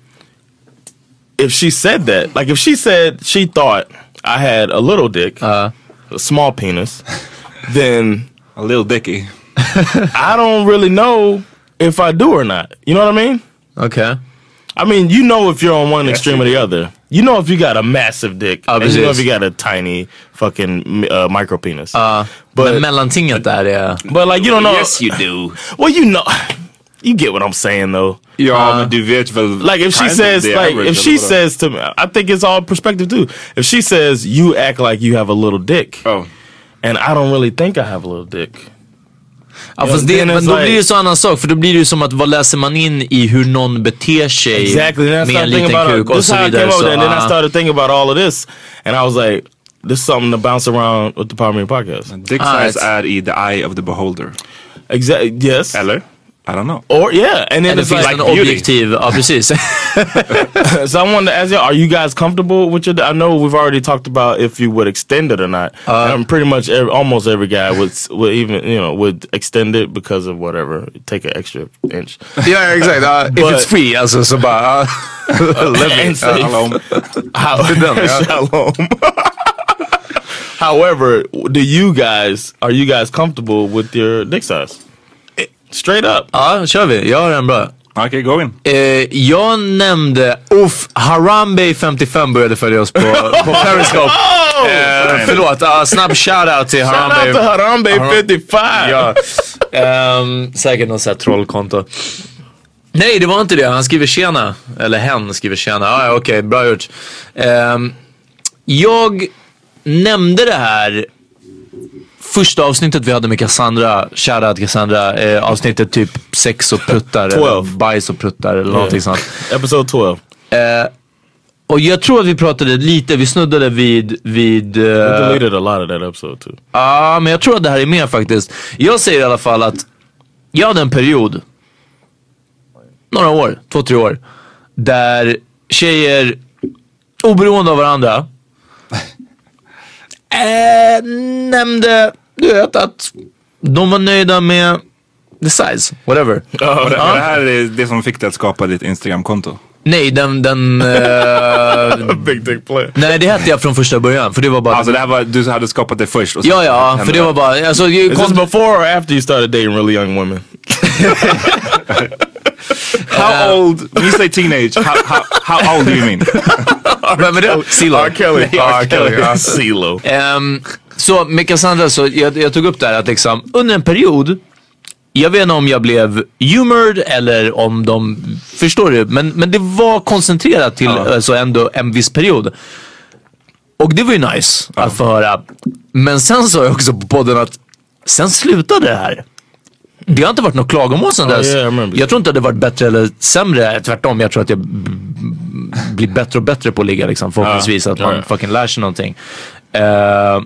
if she said that, like if she said she thought I had a little dick, uh, a small penis, then a little dicky. I don't really know if I do or not. You know what I mean? Okay. I mean, you know if you're on one yes, extreme or the other. You know if you got a massive dick, uh, and you know if you got a tiny fucking uh, micro penis. Uh, but men mellantinget där är... But like you don't know. Yes you do. Well, you know, you get what I'm saying though. Ja, uh, men du vet väl. Like if she says, like if she says to me, I think it's all perspective too. If she says you act like you have a little dick, oh, and I don't really think I have a little dick. Ja, fast det, men då like, blir det så annan sak. För då blir det ju som att vad läser man in i hur någon beter sig exactly, med en liten kuk och så vidare. So, and then I started thinking about all of this, and I was like, this is something to bounce around with the Power Meter podcast. Dick size ah, är i the eye of the beholder. Exactly. Yes. Eller? I don't know. Or yeah, and then and it's it like an objective. Ja, precis. So I wanted to ask you, are you guys comfortable with your? I know we've already talked about if you would extend it or not. Uh, and pretty much every, almost every guy would, would even you know would extend it because of whatever, take an extra inch. Yeah, exactly. Uh, if it's free, alltså så bara. Uh, Shalom. How, shalom. However, do you guys are you guys comfortable with your dick size? Straight up. Ja, kör vi. Jag har en bra. Okej, okay, go in. Eh, jag nämnde, uff, Harambe femtiofem började följa oss på, på Periscope. Oh! Eh, förlåt, uh, snabb shoutout till Harambe. Shout out till Harambe femtiofem. Ja. Um, säkert någon sån här trollkonto. Nej, det var inte det. Han skriver tjena. Eller hen skriver tjena. Ah, ja, okej, okay, bra gjort. Um, jag nämnde det här första avsnittet vi hade med Cassandra, shoutout Cassandra, eh, avsnittet typ sex och pruttar eller bajs och pruttar eller yeah. någonting sånt. Episode tolv. Eh, och jag tror att vi pratade lite, vi snuddade vid... vid uh, we deleted a lot of that episode too. Ja, uh, men jag tror att det här är mer faktiskt. Jag säger i alla fall att jag hade en period, några år, två, tre år, där tjejer oberoende av varandra Eh, nämnde, du vet, att de var nöjda med the size, whatever. Uh, och det, uh. det här är det som fick dig att skapa ditt Instagram-konto? Nej, den... den uh, Big dick play. Nej, det hette jag från första början. För det var bara... Alltså det här var, du hade skapat det först. Och så ja, ja, för det var bara... Alltså, Is this before or after you started dating really young women? How uh, old, when you say teenage, how, how, how old do you mean? Men det Silo. R. Kelly. R. Kelly. Silo. Um, så med Cassandra så jag, jag tog upp det här att liksom under en period, jag vet inte om jag blev humored eller om de, förstår du, men, men det var koncentrerat till uh. alltså ändå en viss period. Och det var ju nice uh. att få höra. Men sen sa jag också på podden att sen slutade det här. Det har inte varit något klagomål sen dess. Oh, yeah, jag tror inte att det varit bättre eller sämre. Tvärtom, jag tror att jag b- b- blir bättre och bättre på att ligga liksom, förhoppningsvis uh, att man yeah. fucking lär sig någonting. Uh,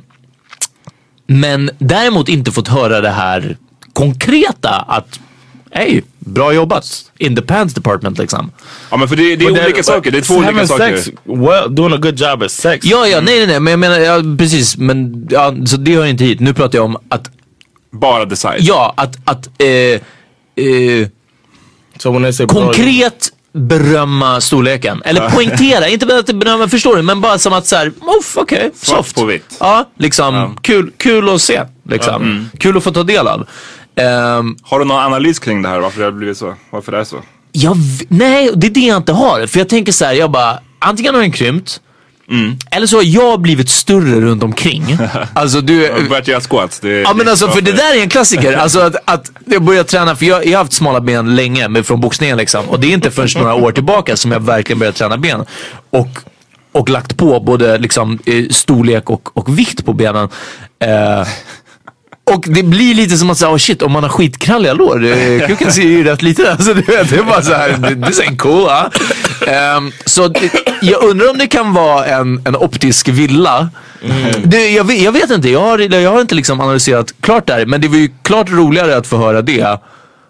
men däremot inte fått höra det här konkreta att hej, bra jobbat in the pants department liksom. Ja, men för det, det är olika that, saker. Det är två olika saker. Sex, well, doing a good job at sex. Ja, ja, nej, nej, nej. Men jag menar, ja, precis. Men ja, så det hör inte hit. Nu pratar jag om att bara the size. Ja, att, att eh, eh, so when they say konkret berömma storleken. Eller poängtera, inte bara att berömma, förstår du, men bara som att så här, oh, okej, okay, soft. På vitt. Ja, liksom, ja. Kul, kul att se, liksom. Mm. Kul att få ta del av. Um, har du någon analys kring det här? Varför det har blivit så? Varför det är så? Jag, nej, det är det jag inte har. För jag tänker så här, jag bara, antingen har den krympt, mm. eller så har jag blivit större runt omkring. Alltså du... Jag har börjat göra squats. Det, ja men alltså för det där är en klassiker. Alltså att, att jag börjar träna, för jag, jag har haft smala ben länge med, från boxningen liksom. Och det är inte först några år tillbaka som jag verkligen börjat träna ben. Och, och lagt på både liksom storlek och, och vikt på benen. Eh, Och det blir lite som att säga, oh shit, om man har skitkralliga lår, kuken ser ju rätt lite. Alltså, det är bara så här, det är så cool, ja. um, Så det, jag undrar om det kan vara en, en optisk villa. Mm. det, jag, vet, jag vet inte, jag har, jag har inte liksom analyserat klart där. Men det var ju klart roligare att få höra det äh,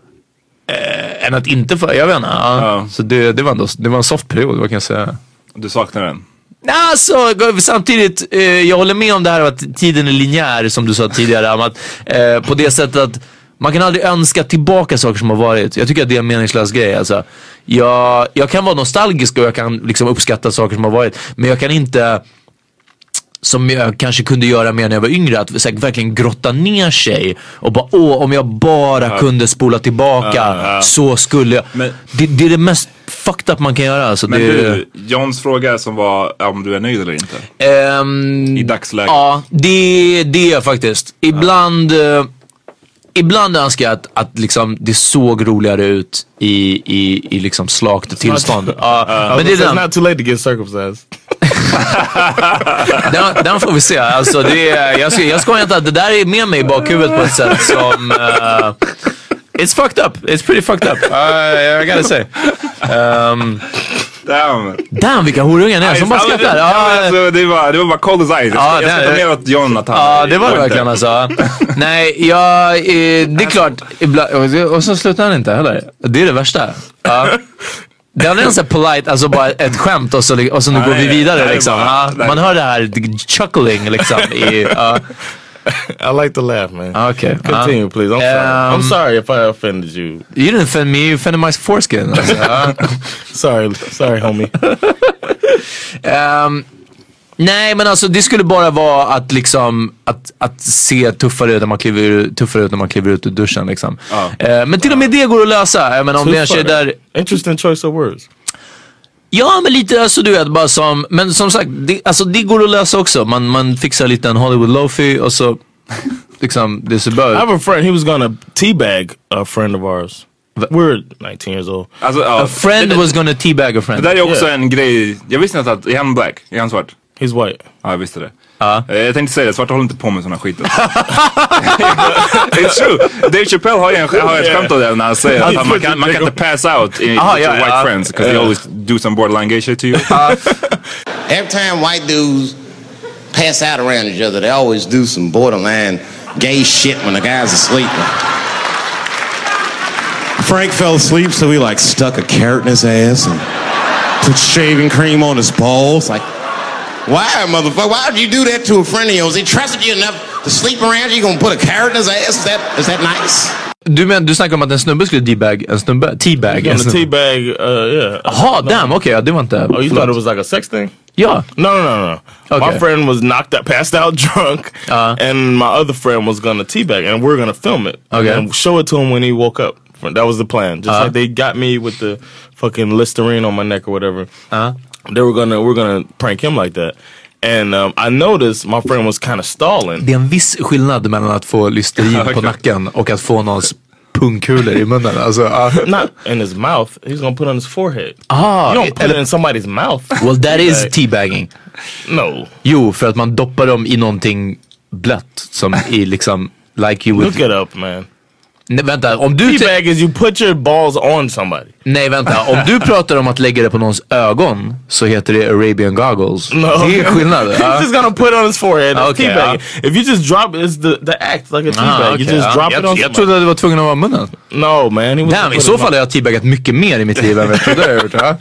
än att inte få, jag vet inte, ja. Ja. Så det, det, var ändå, det var en soft period, vad kan jag säga. Du saknar den? Alltså, samtidigt, eh, jag håller med om det här att tiden är linjär, som du sa tidigare, att, eh, på det sättet att man kan aldrig önska tillbaka saker som har varit. Jag tycker att det är en meningslös grej. Alltså. Jag, jag kan vara nostalgisk och jag kan liksom uppskatta saker som har varit, men jag kan inte, som jag kanske kunde göra mer när jag var yngre, att här, verkligen grotta ner sig och bara, åh, om jag bara ja. kunde spola tillbaka ja, ja. så skulle jag. Men, det, det är det mest fucked up man kan göra. Alltså, men det, du, Johns fråga som var om du är nöjd eller inte? Um, I dagsläget? Ja, det, det är jag faktiskt. Ibland... Ja. Ibland önskar jag att, att liksom, det såg roligare ut i, i, i liksom slakt tillstånd. Uh, uh, men det är den. It's not too late to get circumcised. den, den får vi se. Alltså, det är, jag, ska, jag ska inte att det där är med mig i bakhuvudet på ett sätt som... Uh, it's fucked up. It's pretty fucked up. Uh, I gotta say. Um, Damn. Damn, vilka horungar ni är som bara skrattar. Ja, alltså, det, var, det var bara cold as ice. Ja, jag ska ta med åt John att han... Ja, det var det verkligen alltså. Nej, jag... Eh, det är klart. Ibland, och så slutar han inte heller. Det är det värsta. Ja. Det är en sån polite, alltså bara ett skämt och så, och så nu går vi vidare nej, liksom. Bara, ja, man hör det här chuckling liksom i... Uh. I like to laugh, man. Okay. Continue, uh, please. I'm sorry. Um, I'm sorry if I offended you. You didn't offend me. You offended my foreskin. Alltså, uh. sorry, sorry, homie. um, nej, men alltså det skulle bara vara att liksom att, att se tuffare ut när man kliver tuffare ut när man kliver ut ur duschen liksom. Uh. Uh, men till och med det går att lösa. Jag menar, om det är en tjej där. Interesting choice of words. Ja, men lite, alltså du vet, bara som, men som sagt, det, alltså det går att lösa också. Man, man fixar lite en Hollywood Lofi och så liksom, det ser bara. I have a friend, he was gonna teabag a friend of ours. We're nineteen years old. Alltså, uh, a friend det, was gonna teabag a friend. Det där är också yeah. en grej, jag visste inte att, är han black? Är han svart? He's white. Ja, jag visste det. Uh. Jag tänkte säga det, svarta håller inte på med såna skit. It's true. Dave Chappelle har ju en, har ett skämt av det när han säger att man kan, man kan inte pass out in, Aha, yeah, white uh, friends because uh, they always do some borderline gay shit to you. Uh. Every time white dudes pass out around each other, they always do some borderline gay shit when the guy's asleep. Frank fell asleep, so we like stuck a carrot in his ass and put shaving cream on his balls. Like, why, motherfucker? Why would you do that to a friend of yours? He trusted you enough to sleep around you. You gonna put a carrot in his ass? Is that, is that nice? Du men du snackar om att en snubbe skulle debag en snubbe, teabag en snubbe. Teabag, uh, yeah. Jaha, damn, okay, ja, det var inte. Oh, you thought it was like a sex thing? Yeah. No, no, no, no. Okay. My friend was knocked out, passed out drunk, uh, and my other friend was gonna teabag, and we we're gonna film it okay. and show it to him when he woke up. That was the plan. Just uh, like they got me with the fucking Listerine on my neck or whatever. Uh, they were gonna, we're gonna prank him like that. And um, I noticed my friend was kind of stalling. Det är en viss skillnad mellan att få Listerin på nacken och att få någons pungkulor i munnen. Alltså, uh. Not in his mouth. He's gonna put it on his forehead. Ah, you don't put it in somebody's mouth. Well, that is teabagging. No. Jo, för att man doppar dem i någonting blött som i liksom like you would. Look it up, man. Nej, vänta, om du teabag is you put your balls on somebody. Nej, vänta, om du pratar om att lägga det på någons ögon så heter det Arabian goggles. No. Det är skillnad. He's just gonna put it on his forehead. It's okay, teabag. uh. If you just drop it, it's the, the act like a teabag. Ah, okay, you just uh. drop jag, it on jag trodde att du var tvungen att vara munnen. No, man. He was Damn, i så fall har jag teabagat mycket mer i mitt liv än vad jag trodde.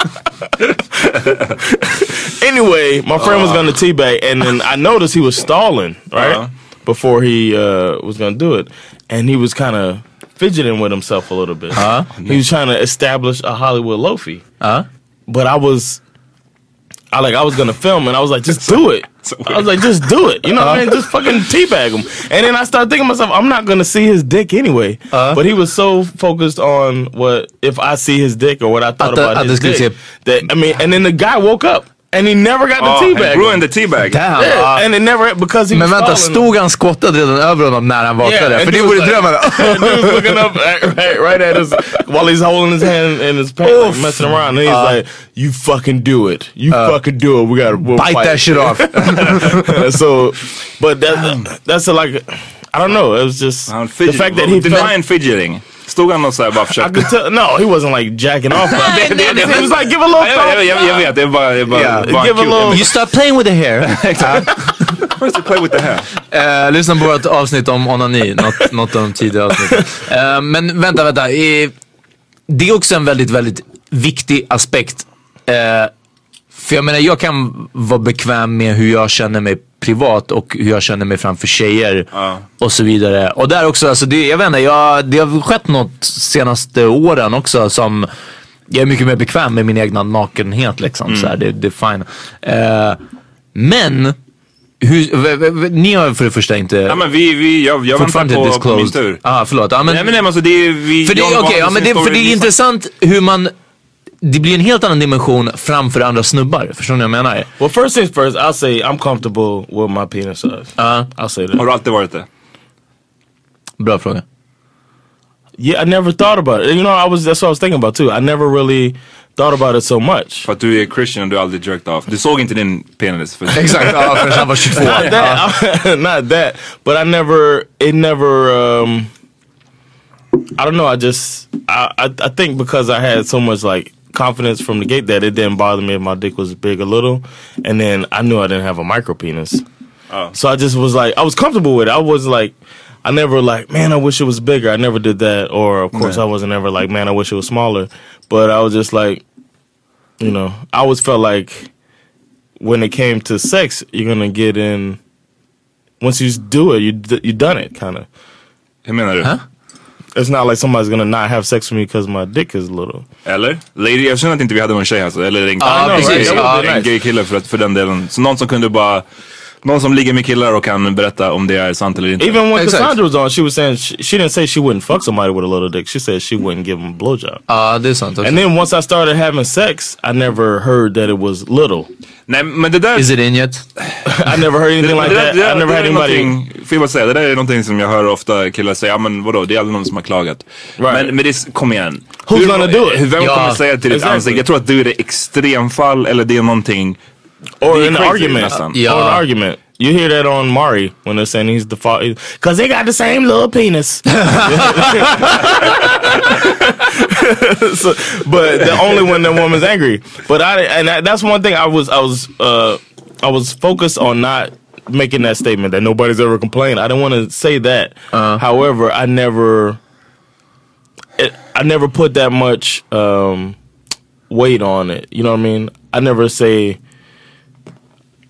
Anyway, my friend uh. was gonna teabag and then I noticed he was stalling, right? Uh. Before he uh, was gonna do it. And he was kind of fidgeting with himself a little bit. Uh, he was trying to establish a Hollywood loafy. Uh, but I was, I like, I was gonna film, and I was like, just do it. I was like, just do it. You know uh, what I mean? Just fucking teabag him. And then I started thinking to myself, I'm not gonna see his dick anyway. Uh, but he was so focused on what if I see his dick or what I thought about his dick. That I mean, and then the guy woke up. And he never got the oh, teabag. He ruined the teabag. Damn. Yeah, uh, and it never because he men was vänta, stod han skottad redan över honom när han vaknade? Yeah, för det vore drömmen. He was looking up right, right at us while he's holding his hand in his pants, like, messing around. And he's uh, like, "You fucking do it. You uh, fucking do it. We gotta we'll bite fight. that shit off." So, but that, that's a, like, I don't know. It was just the fact that he denying fidgeting. Stod han och så här bara försökte... Tell, no, he wasn't like jacking off. det, det, det, he was like, give a little thought. Jag, jag, jag vet, det är bara, det är bara, yeah, bara give a little... You start playing with the hair. Where's the play with the hair? Uh, lyssna på vårt avsnitt om onani. Något, något av de tidigare avsnitten. Uh, men vänta, vänta. Uh, det är också en väldigt, väldigt viktig aspekt. Uh, för jag menar, jag kan vara bekväm med hur jag känner mig privat och hur jag känner mig framför tjejer uh. och så vidare. Och där också, alltså det, jag vet inte, jag, det har skett något senaste åren också som jag är mycket mer bekväm med min egna nakenhet liksom. Mm. Så här, det, det är fine. Uh, men hur, v, v, v, ni har för det första inte... Ja, men vi, vi, jag, jag väntar på, på min tur. Ah, förlåt. Ja, men, nej, men, nej, men alltså, det är, vi, för det, okay, ja, men det, för det är intressant hur man... Det blir en helt annan dimension framför andra snubbar. Förstår ni vad jag menar? Well, first things first, I'll say I'm comfortable with my penis size. Uh, I'll say that. Har du alltid varit det? Bra fråga. Yeah, I never thought about it. You know, I was that's what I was thinking about too. I never really thought about it so much. För att du är Christian och du aldrig jerked off. Du såg inte din penis. För exakt, ja, för han var tjugotvå. Not that, not that. But I never, it never, um, I don't know, I just, I, I, I think because I had so much like confidence from the gate that it didn't bother me if my dick was big or little. And then I knew I didn't have a micro penis. Oh. So I just was like, I was comfortable with it. I was like, I never like, man, I wish it was bigger. I never did that. Or of course yeah. I wasn't ever like, man, I wish it was smaller. But I was just like, you know, I always felt like when it came to sex, you're gonna get in, once you do it, you d- you done it kind of. Hur menar du? Huh? It's not like somebody's gonna not have sex with me because my dick is little. Eller? Lady, jag känner att inte vi hade någon tjej alltså. Eller en, ah, en, precis. en, Ah, en gay kille för, för den delen. Så någon som kunde bara... Någon som ligger med killar och kan berätta om det är sant eller inte. Even when exactly. Cassandra was on, she was saying she, she didn't say she wouldn't fuck somebody with a little dick. She said she wouldn't give him a blowjob. Ah, uh, det är sant. And then once I started having sex, I never heard that it was little. Nej, men det där... Is it in yet? I never heard anything like that. I never had anybody... Får jag bara säga, det där är någonting som jag hör ofta killar säga, ja men vadå, det är aldrig någon som har klagat. Right. Men, men det, kom igen. Who's hur, gonna do it? Vem ja, kommer säga till ditt exactly. ansikte? Jag tror att du är det extremfall eller det är någonting... Or an argument. Yeah. Or an argument. You hear that on Mari when they're saying he's the father. Because they got the same little penis. So, but the only when the woman's angry. But I and that, that's one thing I was I was uh, I was focused on not making that statement that nobody's ever complained. I didn't want to say that. Uh-huh. However, I never it, I never put that much um, weight on it. You know what I mean? I never say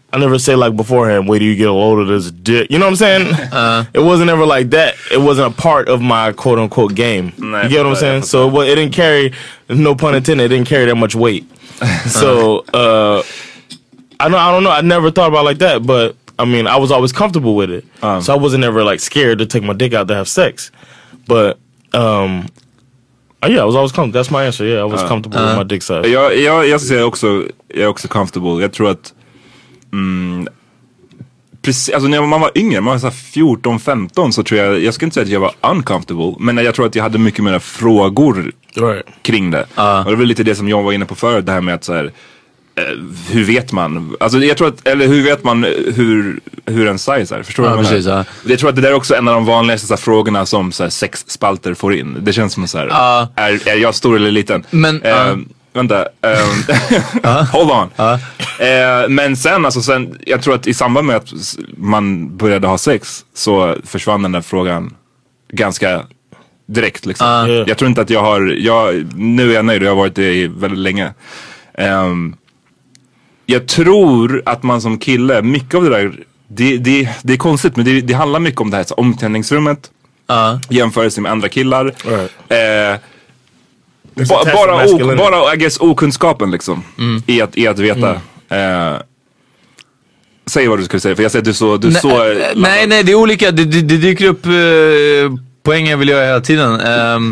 I never say like beforehand, wait till you get a load of this dick. You know what I'm saying? Uh, it wasn't ever like that. It wasn't a part of my quote unquote game. Nej, you get what I'm saying? So it, was, it didn't carry, no pun intended, it didn't carry that much weight. So uh, I don't, I don't know. I never thought about it like that, but I mean, I was always comfortable with it. Um, so I wasn't ever like scared to take my dick out to have sex. But um, yeah, I was always comfortable. That's my answer. Yeah, I was uh, comfortable uh, with my dick size. Jag, jag, jag säger också, jag är också comfortable. Jag tror att Mm, precis, alltså när man var yngre, man var så fjorton femton, så tror jag, jag ska inte säga att jag var uncomfortable, men jag tror att jag hade mycket mer frågor right. kring det. Uh. Och det var lite det som jag var inne på förut, det här med att så här, eh, hur vet man? Alltså jag tror att, eller hur vet man hur, hur en size är? Förstår du uh, vad jag precis, menar? Uh. Jag tror att det där är också en av de vanligaste så här, frågorna som så här, sex spalter får in. Det känns som så här, uh. är, är jag stor eller liten? Men uh. eh, Vänta, um, uh. hold on. Uh. Uh, men sen, alltså sen, jag tror att i samband med att man började ha sex så försvann den där frågan ganska direkt liksom. Uh. Jag tror inte att jag har, jag, nu är jag nöjd och jag har varit det i väldigt länge. Um, jag tror att man som kille, mycket av det där, det, det, det är konstigt, men det, det handlar mycket om det här så, omklädningsrummet, uh. jämförelse med andra killar. Right. Uh, Ba, bara, o, bara I guess, okunskapen liksom mm. i, att, i att veta mm. eh, säg vad du skulle säga, för jag säger att du så, du nej, så nej, nej, det är olika, det, det, det dyker upp eh, poäng jag vill göra hela tiden. um,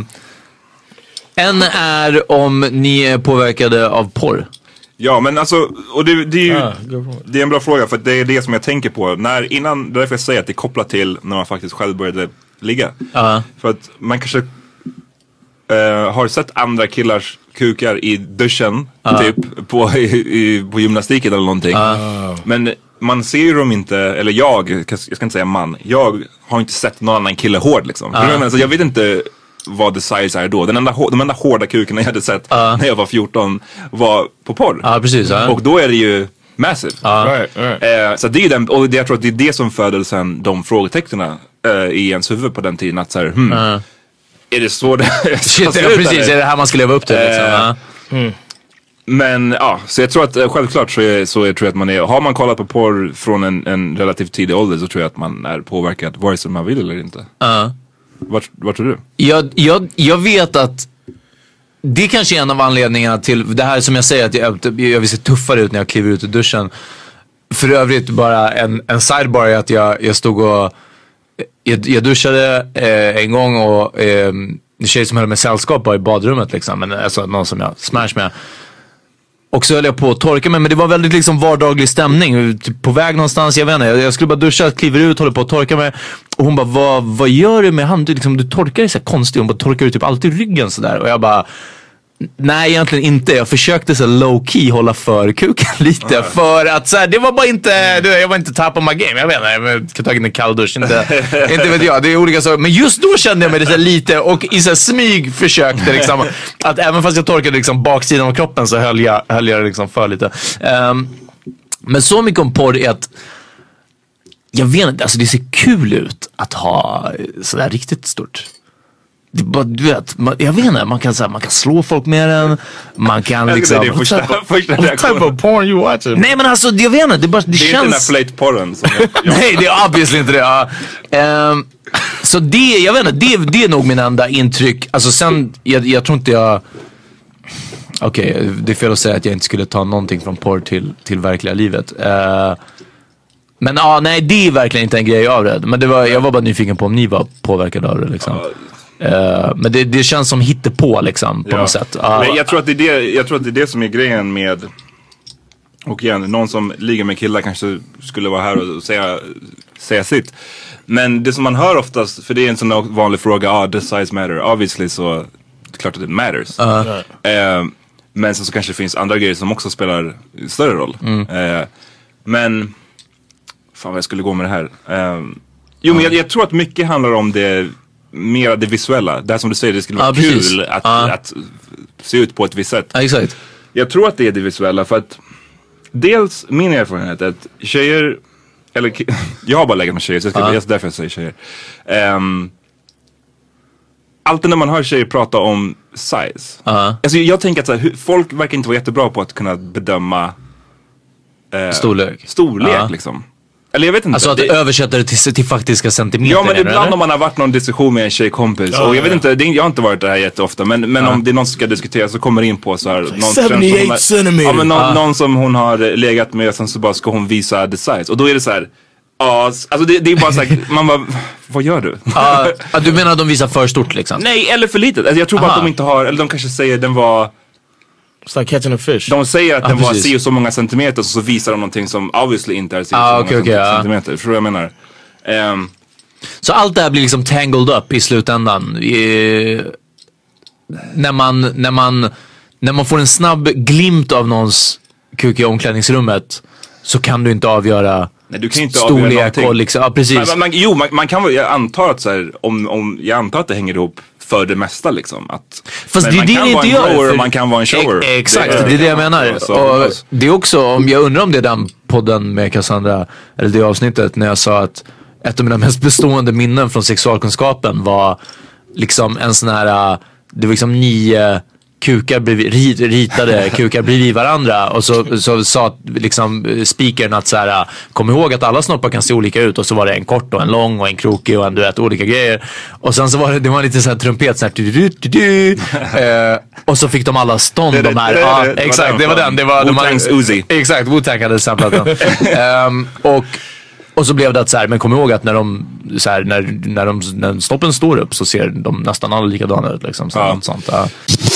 En är om ni är påverkade av porr. Ja, men alltså, och det, det är ju ah, det är en bra fråga, för det är det som jag tänker på när, innan, därför jag säger att det är kopplat till när man faktiskt själv började ligga. uh. För att man kanske Uh, har sett andra killars kukar i duschen uh. typ på, i, i, på gymnastiken eller någonting. Uh. Men man ser ju dem inte, eller jag, jag ska inte säga man, jag har inte sett någon annan kille hård liksom. Uh. Alltså, jag vet inte vad the size är då. Den enda, de enda hårda kuken jag hade sett uh. när jag var fjorton var på porr. Uh, precis, uh. Och då är det ju massive. Uh. Right, right. Uh, så det är den, och jag tror att det är det som födde sen de frågetecknen uh, i ens huvud på den tiden, att så här, hmm, uh. är det så det Shit, ja, precis, är det här man ska leva upp till liksom? uh, mm. Men ja, så jag tror att uh, självklart så, är, så är, tror jag att man är, har man kollat på porr från en, en relativt tidig ålder, så tror jag att man är påverkad vare sig man vill eller inte. uh. Vart, vart tror du? Jag, jag, jag vet att det kanske är en av anledningarna till det här som jag säger, att jag, jag vill se tuffare ut när jag kliver ut ur duschen. För övrigt bara en, en sidebar är att jag, jag stod och Jag, jag duschade eh, en gång och eh, en tjej som höll med sällskap var i badrummet liksom, men alltså någon som jag smash med. Och så höll jag på att torka mig, men det var väldigt liksom vardaglig stämning, typ på väg någonstans, jag vet inte, jag, jag skulle bara duscha, kliver ut, håller på att torka mig. Och hon bara, vad, vad gör du med hand? Du, liksom, du torkar dig så här konstigt, hon bara, torkar du typ alltid ryggen sådär? Och jag bara, nej egentligen inte. Jag försökte så low key hålla för kuken lite. Mm. För att så här, det var bara inte, du, jag var inte top of my game. Jag vet inte, jag kan ta in en kall dusch. Inte, inte vet jag, det är olika saker. Men just då kände jag mig lite lite. Och i så här smyg försökte liksom, att även fast jag torkade liksom baksidan av kroppen, så höll jag, höll jag liksom för lite. um, Men så mycket om porr är att jag vet inte, alltså det ser kul ut att ha sådär riktigt stort. Det bara, du vet, man, jag vet inte, man kan, så här, man kan slå folk med den. Man kan liksom... Det är första, första what type of porn you watching? Nej men alltså, jag vet inte, det, bara, det, det känns... Det är inte den här flate-porren som jag... Nej, det är obviously inte det. Ja. Um, så det, jag vet inte, det, det är nog min enda intryck. Alltså sen, jag, jag tror inte jag... Okej, okay, det är fel att säga att jag inte skulle ta någonting från porr till, till verkliga livet. Uh, men ja, ah, nej, det är verkligen inte en grej av det. Men det var, jag var bara nyfiken på om ni var påverkade av det liksom. Uh, men det, det känns som hittepå liksom på ja. något sätt. Uh, men jag tror att det är det, jag tror att det är det som är grejen med, och igen, någon som ligger med killar kanske skulle vara här och säga, säga sitt. Men det som man hör oftast, för det är en sån vanlig fråga, ah, does size matter? Obviously så, klart att det matters. Uh. Uh, men så, så kanske det finns andra grejer som också spelar större roll. Mm. Uh, men, fan vad jag skulle gå med det här. Uh, jo, men jag, jag tror att mycket handlar om det, mer det visuella. Det här som du säger, det skulle vara ah, kul att, ah. att se ut på ett visst sätt. Ah, exakt. Jag tror att det är det visuella, för att dels min erfarenhet är att tjejer, eller jag har bara legat med tjejer, så jag ska, ah. just därför jag säger tjejer. Um, alltid när man hör tjejer prata om size, ah. alltså jag tänker att så här, folk verkar inte vara jättebra på att kunna bedöma eh, storlek, storlek ja. liksom. Eller jag vet inte. Alltså att det... översätta det till, till faktiska centimeter. Ja, men eller, ibland eller? om man har varit någon diskussion med en tjejkompis. Ja, och jag vet ja. inte, det, jag har inte varit där här jätteofta. Men, men ja. om det är någon som ska diskutera så kommer det in på så här. Någon, seventy-eight centimeter. Ja, men någon, ah. någon som hon har legat med och sen så bara ska hon visa the size. Och då är det så här. Ja, alltså det, det är bara så här, man bara, vad gör du? Ja, uh, du menar att de visar för stort liksom? Nej, eller för litet. Alltså jag tror bara Aha. att de inte har, eller de kanske säger den var... It's like catching a fish. De säger att ah, den var precis. si och så många centimeter, så visar de någonting som obviously inte är si och Ah, så okay, många okay, centimeter. ja. Förstår du vad jag menar? Um, Så allt det här blir liksom tangled up i slutändan. I, när man, när man, när man får en snabb glimt av någons kuk i omklädningsrummet, så kan du inte avgöra nej, du kan inte avgöra storlek någonting. och liksom, ja precis. Man, man, jo, man, man kan väl, jag antar att så här, om, om, jag antar att det hänger ihop för det mesta liksom. Att, Fast det är man det kan det vara inte en gör. grower, För, man kan vara en shower. E- exakt, det, det är det jag menar. Så, och det är också, om jag undrar om det är den podden med Cassandra, eller det avsnittet när jag sa att ett av mina mest bestående minnen från sexualkunskapen var liksom en sån här, det var liksom nio kukar bredvid, rit, ritade kukar bredvid varandra, och så, så sa liksom speakern att så här, kom ihåg att alla snoppar kan se olika ut, och så var det en kort och en lång och en krokig och en, du vet, olika grejer, och sen så var det, det var lite så här trumpet så här, du, du, du, du. eh, och så fick de alla stånd, det, de här, det, det, ja, det, det exakt, det var den, det var Wu-Tang's Uzi. Exakt, Wu-Tang hade samplat den. um, och Och så blev det att så här, men kom ihåg att när de så här, när, när de när stoppen står upp så ser de nästan alla likadana ut liksom, så ja. något sånt. Ja.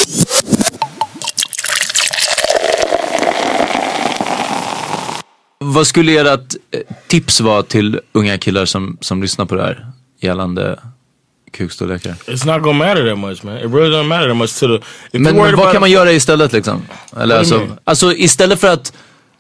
Vad skulle ert tips vara till unga killar som, som lyssnar på det här gällande kukstorlekar? It's not gonna matter that much, man. It really doesn't matter that much to the... If Men, men vad kan man göra istället liksom? Eller alltså, alltså istället för att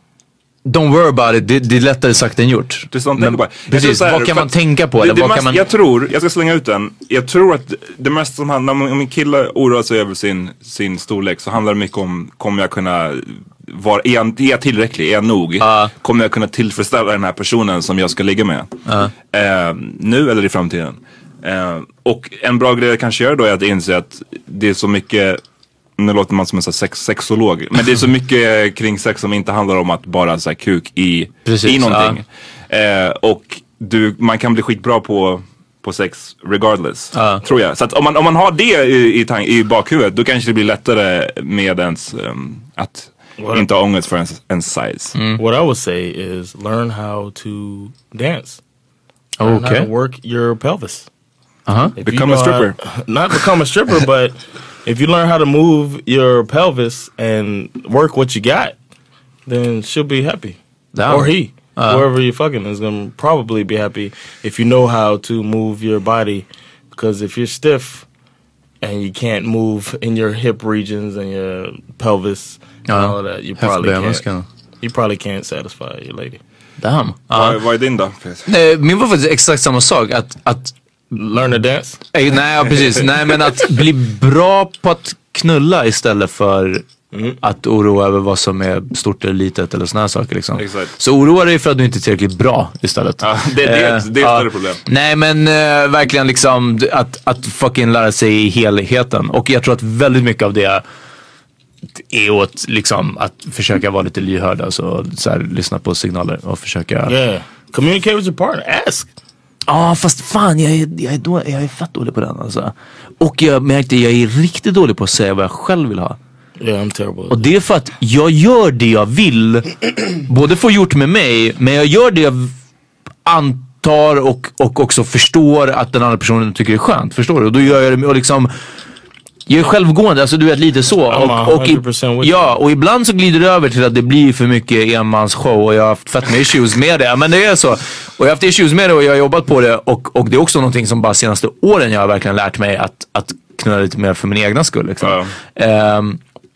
don't worry about it, det, det är lättare sagt än gjort. Det är sånt men, bara. precis, här, vad kan man tänka på? Det, Eller det vad mest, kan man... Jag tror, jag ska slänga ut den. Jag tror att det mesta som handlar om, om en kille oroar sig över sin, sin storlek, så handlar det mycket om, kommer jag kunna vara, är jag, är jag tillräcklig, är jag nog? Uh. Kommer jag kunna tillfredsställa den här personen som jag ska ligga med? Uh. Eh, nu eller i framtiden? Eh, och en bra grej jag kanske gör då är att inse att det är så mycket, nu låter man som en sex, sexolog, men det är så mycket kring sex som inte handlar om att bara så här, kuk i, precis, i någonting. Ja. Eh, och du, man kan bli skitbra på, på sex regardless, ja. tror jag. Så att om man, om man har det i, i, tang, i bakhuvudet, då kanske det blir lättare med ens um, att What inte ha ångest för ens, ens size. Mm. What I would say is learn how to dance. Learn okay. How to work your pelvis. Uh-huh. Become a stripper. How, not become a stripper, but if you learn how to move your pelvis and work what you got, then she'll be happy. Damn. Or he. Uh. Whoever you're fucking is going to probably be happy if you know how to move your body. Because if you're stiff and you can't move in your hip regions and your pelvis and uh. all of that, you probably can't. You probably can't satisfy your lady. Damn. Uh. Vad, vad är din då? Nej, min var faktiskt exakt samma sak. Att... att learn to dance? Eh, nej, precis. Nej, men att bli bra på att knulla istället för mm. att oroa över vad som är stort eller litet eller såna här saker liksom. Exakt. Så oroa dig för att du inte är tillräckligt bra istället. Ja, det, det, eh, det är ett större ja. problem. Nej, men eh, verkligen liksom att, att fucking lära sig helheten. Och jag tror att väldigt mycket av det är åt liksom att försöka vara lite lyhörd, alltså så här, lyssna på signaler och försöka... Yeah. Communicate with your partner, ask. Ja, ah, fast fan jag är, jag, är då, jag är fett dålig på den alltså. Och jag märkte jag är riktigt dålig på att säga vad jag själv vill ha. Yeah, I'm terrible. Och det är för att jag gör det jag vill, både få gjort med mig, men jag gör det jag antar och, och också förstår att den andra personen tycker det är skönt, förstår du? Och då gör jag det och liksom jag är självgående, alltså du vet lite så. Och, och, i, ja, och ibland så glider det över till att det blir för mycket enmans show och jag har haft fett med issues med det. Men det är så. Och jag har haft issues med det och jag har jobbat på det. Och, och det är också någonting som bara senaste åren jag har verkligen lärt mig att, att knulla lite mer för min egna skull. Liksom. Ja. Um,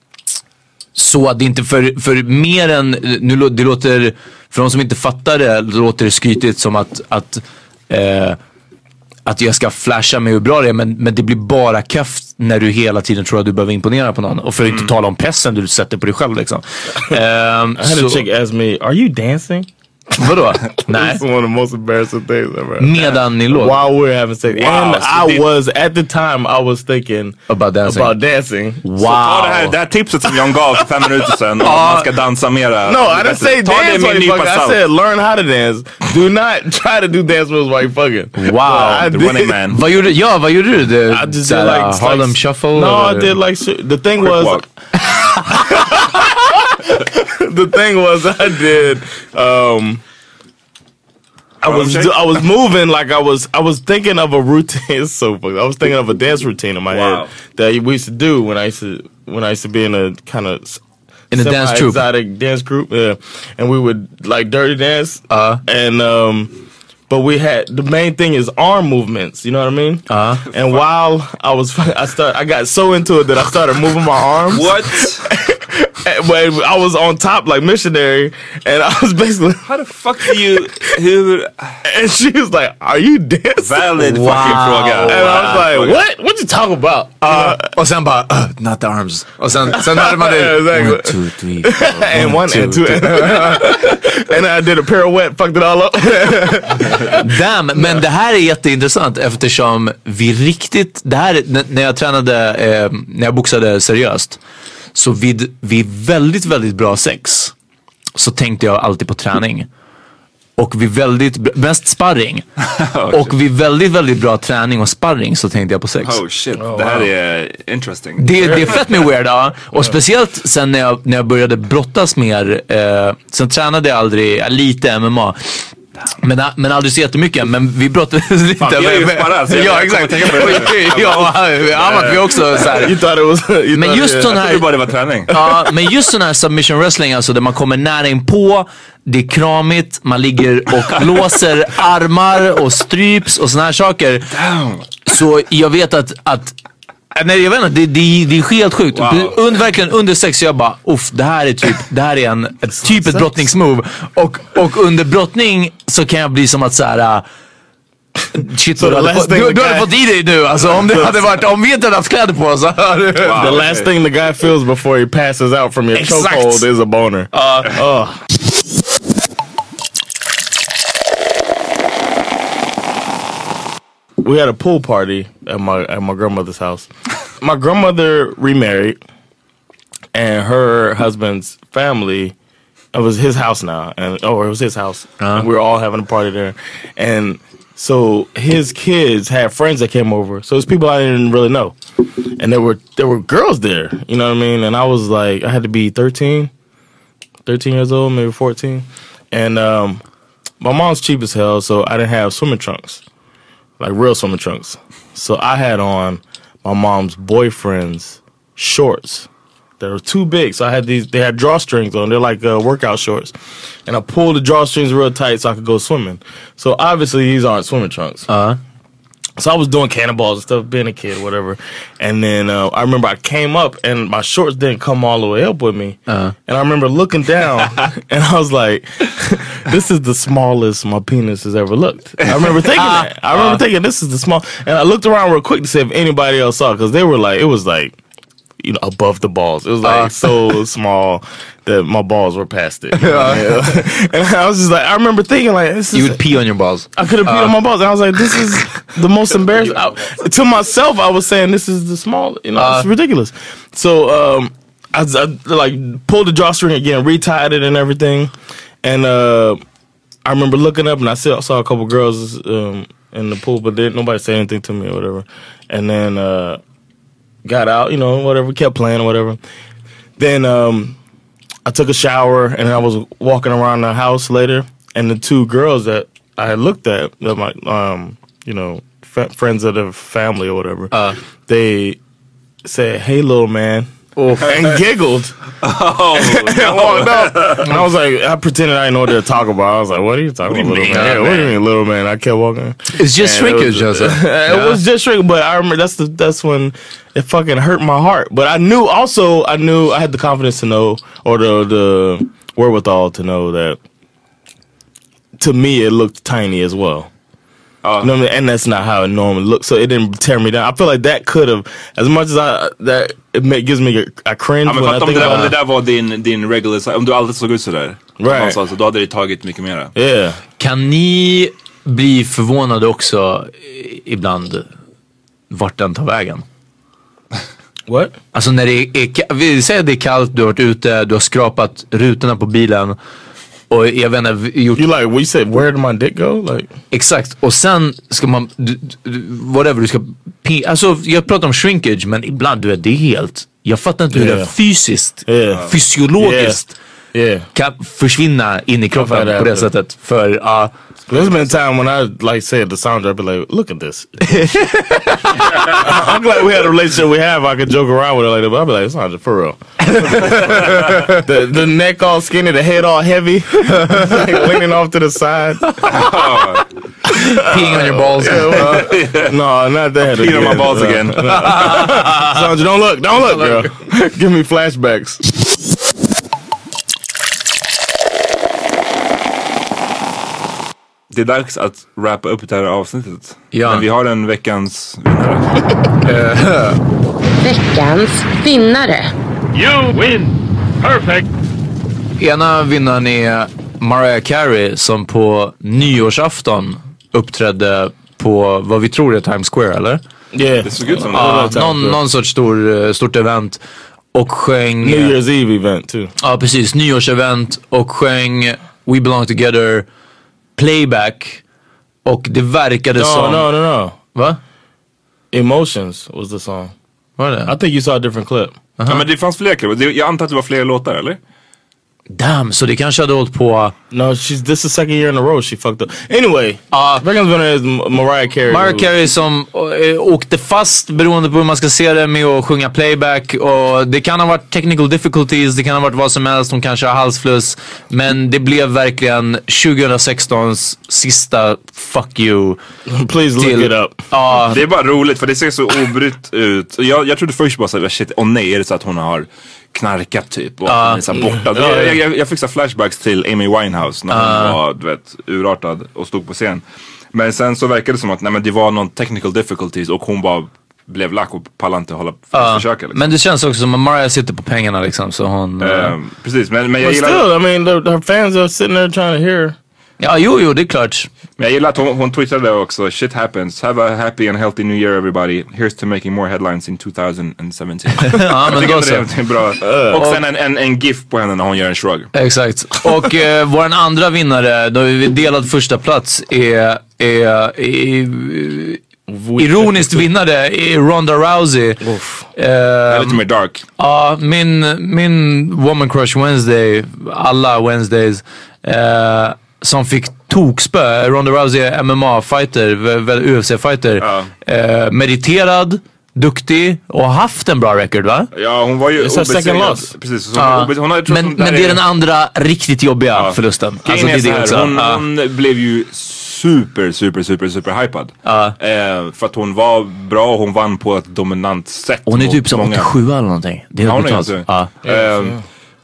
så att det inte för, för mer än, nu det låter, för de som inte fattar det, låter det skrytigt som att, att uh, att jag ska flasha med hur bra det är, men, men det blir bara kaft när du hela tiden tror att du behöver imponera på någon. Och för att mm. inte tala om pressen du sätter på dig själv liksom. um, I had so, a chick ask me, are you dancing? Vadå? Nej. It's one of the most embarrassing things ever. Medan ni låg? While we were having sex. Wow, and I det... was, at the time, I was thinking about dancing. About dancing. Wow. Så ta det här, det här tipset som John gav för fem minuter sedan. Om man ska dansa mera. No, I didn't say dance while you fucking. I said learn how to dance. Do not try to do dance moves while you fucking. Wow. The running man. Vad gjorde, ja, vad gjorde du? The, I just did like, uh, Harlem like, Shuffle? No, or? I did like, the thing Quick was... walk. The thing was I did... Um, I was I was moving like I was I was thinking of a routine. It's so funny. I was thinking of a dance routine in my wow. head that we used to do when I used to when I used to be in a kind of in a dance troupe, exotic dance group. Yeah, and we would like dirty dance. Uh, and um, but we had the main thing is arm movements. You know what I mean? Uh, and while I was I start I got so into it that I started moving my arms. What? But I was on top like missionary, and I was basically, how the fuck do you? Who? And she was like, "Are you dancing?" Valid wow. fucking fråga. And wow. I was like, "What? What you talking about?" Uh, och sen bara, uh, not the arms. Och sen, sen hade man det. Exactly. One, two, three, four, and one, one two, and two. And I did a pirouette, fucked it all up. Damn, men det här är jätteintressant eftersom vi riktigt, det här när jag tränade, eh, när jag boxade seriöst. Så vid, vid väldigt, väldigt bra sex så tänkte jag alltid på träning. Och vid väldigt, mest sparring. oh, och vid väldigt, väldigt bra träning och sparring så tänkte jag på sex. Oh shit, oh, det här wow. är interesting. Det, det är fett med weird, ja. Och speciellt sen när jag, när jag började brottas mer. Eh, sen tränade jag aldrig, lite M M A. Men, men aldrig så jättemycket. Men vi brottades lite. Fan, jag är ju sparrad. Ja, exakt. Ja, Amat, vi också så här. Men just sån här, jag bara det var träning. Ja, men just sån här submission wrestling, alltså där man kommer nära in på, det är kramigt, man ligger och låser armar och stryps och såna här saker. Damn. Så jag vet att, att nej, jag vet inte, det, det, det är helt sjukt. Wow. Und, verkligen under sex jag bara, uff, det här är typ, det här är en ett typ ett brottningsmove. Och, och under brottning så kan jag bli som att så här. Shit, so du, hade fått, du, du hade fått i dig nu, alltså om det hade varit, om vi inte hade haft kläder på så wow, the last thing the guy feels before he passes out from your chokehold is a boner. Uh, uh. We had a pool party at my at my grandmother's house. My grandmother remarried, and her husband's family, it was his house now, and oh, it was his house. Uh-huh. And we were all having a party there, and so his kids had friends that came over. So it's people I didn't really know, and there were there were girls there. You know what I mean? And I was like, I had to be thirteen, thirteen years old, maybe fourteen, and um, my mom's cheap as hell, so I didn't have swimming trunks. Like real swimming trunks. So I had on my mom's boyfriend's shorts. They were too big. So I had these, they had drawstrings on. They're like uh, workout shorts. And I pulled the drawstrings real tight so I could go swimming. So obviously these aren't swimming trunks. Uh-huh. So I was doing cannonballs and stuff, being a kid, whatever. And then uh, I remember I came up and my shorts didn't come all the way up with me. Uh-huh. And I remember looking down and I was like, this is the smallest my penis has ever looked. I remember thinking that. I remember uh-huh. thinking this is the small. And I looked around real quick to see if anybody else saw it because they were like, it was like, you know, above the balls. It was like uh. so small that my balls were past it. You know? uh. And I was just like, I remember thinking like, this is. You would pee on your balls. I could have peed uh. on my balls. And I was like, this is the most embarrassing. I, to myself, I was saying, this is the small, you know, uh. it's ridiculous. So um, I, I like pulled the drawstring again, retied it and everything. And uh, I remember looking up and I saw, saw a couple girls um, in the pool, but didn't nobody say anything to me or whatever. And then uh, got out, you know, whatever, kept playing or whatever. Then um, I took a shower and I was walking around the house later, and the two girls that I had looked at, that my, um, you know, f- friends of the family or whatever, uh. they said, "Hey, little man." Oh. And giggled. Oh, no. Walked up. And I was like, I pretended I didn't know what they were talking about. I was like, what are you talking about, little man? man? Yeah, what do you mean, little man? I kept walking. It's just shrinkage, Joseph. It yeah. was just shrinkage, but I remember that's the that's when it fucking hurt my heart. But I knew also, I knew I had the confidence to know, or the the wherewithal to know that to me it looked tiny as well. Uh, you know what I mean? And that's not how it normally looks. So it didn't tear me down. I feel like that could have, as much as I, that it gives me a, a cringe. Ja, men when I think om, det där, om det där var din, din regular size, om du alltid såg ut sådär. Right. Så då hade det tagit mycket mer. Yeah. Kan ni bli förvånade också ibland vart den tar vägen? What? Alltså när det är, vi säger att det är kallt, du har varit ute, du har skrapat rutorna på bilen och jag vet inte, gjort... You like, we said, where did my dick go? Like... Exakt, och sen ska man, du, du, whatever du ska, alltså jag pratar om shrinkage, men ibland du vet, det är helt, jag fattar inte hur yeah. det fysiskt, yeah. fysiologiskt yeah. Yeah. kan försvinna in i kroppen på det sättet. För ja uh, there's been a time when I like said the sound, I'd be like, look at this. I'm glad we had a relationship we have. I could joke around with her like that, but I'd be like, Sandra, for real. the, the neck all skinny, the head all heavy, like leaning off to the side. Peeing on your balls. Yeah, well, no, not that. Peeing on my balls uh, again. Sandra, don't look, don't look, girl. Give me flashbacks. Det är dags att wrappa upp det här avsnittet. Ja. Men vi har en veckans vinnare. Veckans vinnare. You win! Perfect! Ena vinnaren är Mariah Carey som på nyårsafton uppträdde på vad vi tror är Times Square, eller? Yeah. Det såg ut som ja, det. Någon, någon sorts stor, stort event. Och sjöng... New Year's Eve event too. Ja, precis. Nyårsevent. Och sjöng We Belong Together playback. Och det verkade no, som... No, no, no. Va? Emotions was the song. Var det? I think you saw a different clip. Uh-huh. Ja, men det fanns fler klipp. Jag antar att det var fler låtar, eller? Damn, så det kanske hade hållit på... No, she's, this is the second year in a row she fucked up. Anyway, uh, veckans vinnare is Mariah Carey. Mariah Carey som äh, åkte fast beroende på hur man ska se det med att sjunga playback. Och det kan ha varit technical difficulties, det kan ha varit vad som helst, hon kanske har halsfluss. Men det blev verkligen tjugo sextons sista fuck you. Please till, look it up. Uh, det är bara roligt för det ser så obrytt ut. Jag, jag trodde först bara såhär, shit, åh nej, är det så att hon har knarkat typ och uh, så borta. Uh, jag, jag, jag fick så flashbacks till Amy Winehouse när hon uh, var, du vet, urartad och stod på scen. Men sen så verkade det som att nej, men det var någon technical difficulties och hon bara blev lack och pallade inte hålla uh, försöka liksom. Men det känns också som att Mariah sitter på pengarna liksom, så hon... Uh, precis, men, men jag But gillar... still, I mean, the, her fans are sitting there trying to hear. Ja, jo, jo, det är klart. Men jag gillar att hon, hon twittrade också, shit happens, have a happy and healthy new year everybody, here's to making more headlines in twenty seventeen. Ja, men då så. Det är bra. Uh, och sen en, en, en gif på henne när hon gör en shrug. Exakt. Och eh, vår andra vinnare, då vi delad första plats, är, är, är ironiskt vinnare är Ronda Rousey. Uh, lite mer dark. Ja, uh, min, min Woman Crush Wednesday, alla Wednesdays, uh, som fick tokspö. Ronda Rousey är M M A-fighter, U F C-fighter. Uh. Uh, mediterad, duktig och haft en bra record, va? Ja, hon var ju obesegrad. Precis. Så uh. hon, hon hade, men men det är den andra riktigt jobbiga uh. förlusten. Alltså, det är det också. Hon, uh. hon blev ju super, super, super, super hypad. Uh. Eh, för att hon var bra och hon vann på ett dominant sätt. Hon är typ som åttiosju eller någonting. Det är helt brutalt. Ja, uh.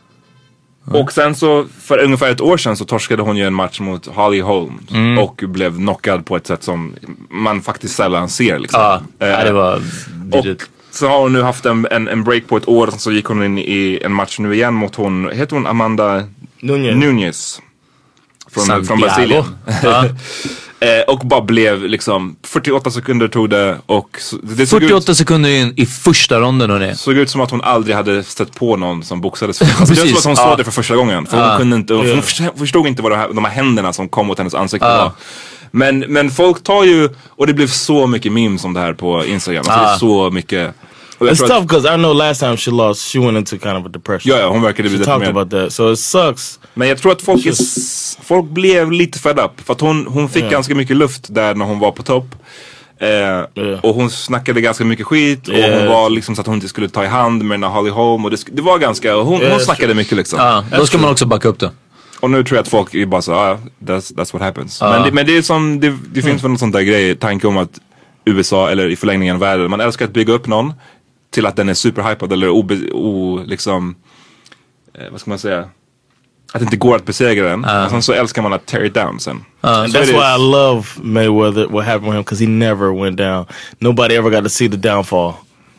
Och sen så för ungefär ett år sedan så torskade hon ju en match mot Holly Holmes mm. och blev knockad på ett sätt som man faktiskt sällan ser liksom. Ja, uh, det var och så har hon nu haft en, en, en break på ett år, så gick hon in i en match nu igen mot hon, heter hon Amanda Nunes, Nunes från, från Brasilien. Ja. eh, och bara blev liksom fyrtioåtta sekunder tog det och det såg fyrtioåtta ut, sekunder in i första ronden och det såg ut som att hon aldrig hade stött på någon som boxades. Alltså, det var som att hon såg ja. det för första gången. För ja. hon kunde inte, hon förstod, förstod inte vad de här, de här händerna som kom mot hennes ansikte ja. var. Men, men folk tar ju, och det blev så mycket memes om det här på Instagram. Alltså ah. det är så mycket. It's tough because I know last time she lost, she went into kind of a depression. Ja, ja, hon verkade bli She talked about that, so it sucks. Men jag tror att folk, är, folk blev lite fed up. För att hon, hon fick yeah. ganska mycket luft där när hon var på topp. Eh, yeah. Och hon snackade ganska mycket skit. Och yeah. hon var liksom så att hon inte skulle ta i hand med Holly Holm. Och det, det var ganska, hon, yeah, hon snackade true. mycket liksom. Ja, då ska man också backa upp det. Och nu tror jag att folk är bara så, ah, that's, that's what happens. Uh. Men, det, men det är som, det, det finns mm. väl något sånt där grej, tanke om att U S A eller i förlängningen världen, man älskar att bygga upp någon till att den är superhypad eller obe, o, liksom, eh, vad ska man säga, att det inte går att besegra den. Uh. Och sen så älskar man att tear it down sen. Uh, and that's why I love Mayweather, what happened with him, because he never went down. Nobody ever got to see the downfall.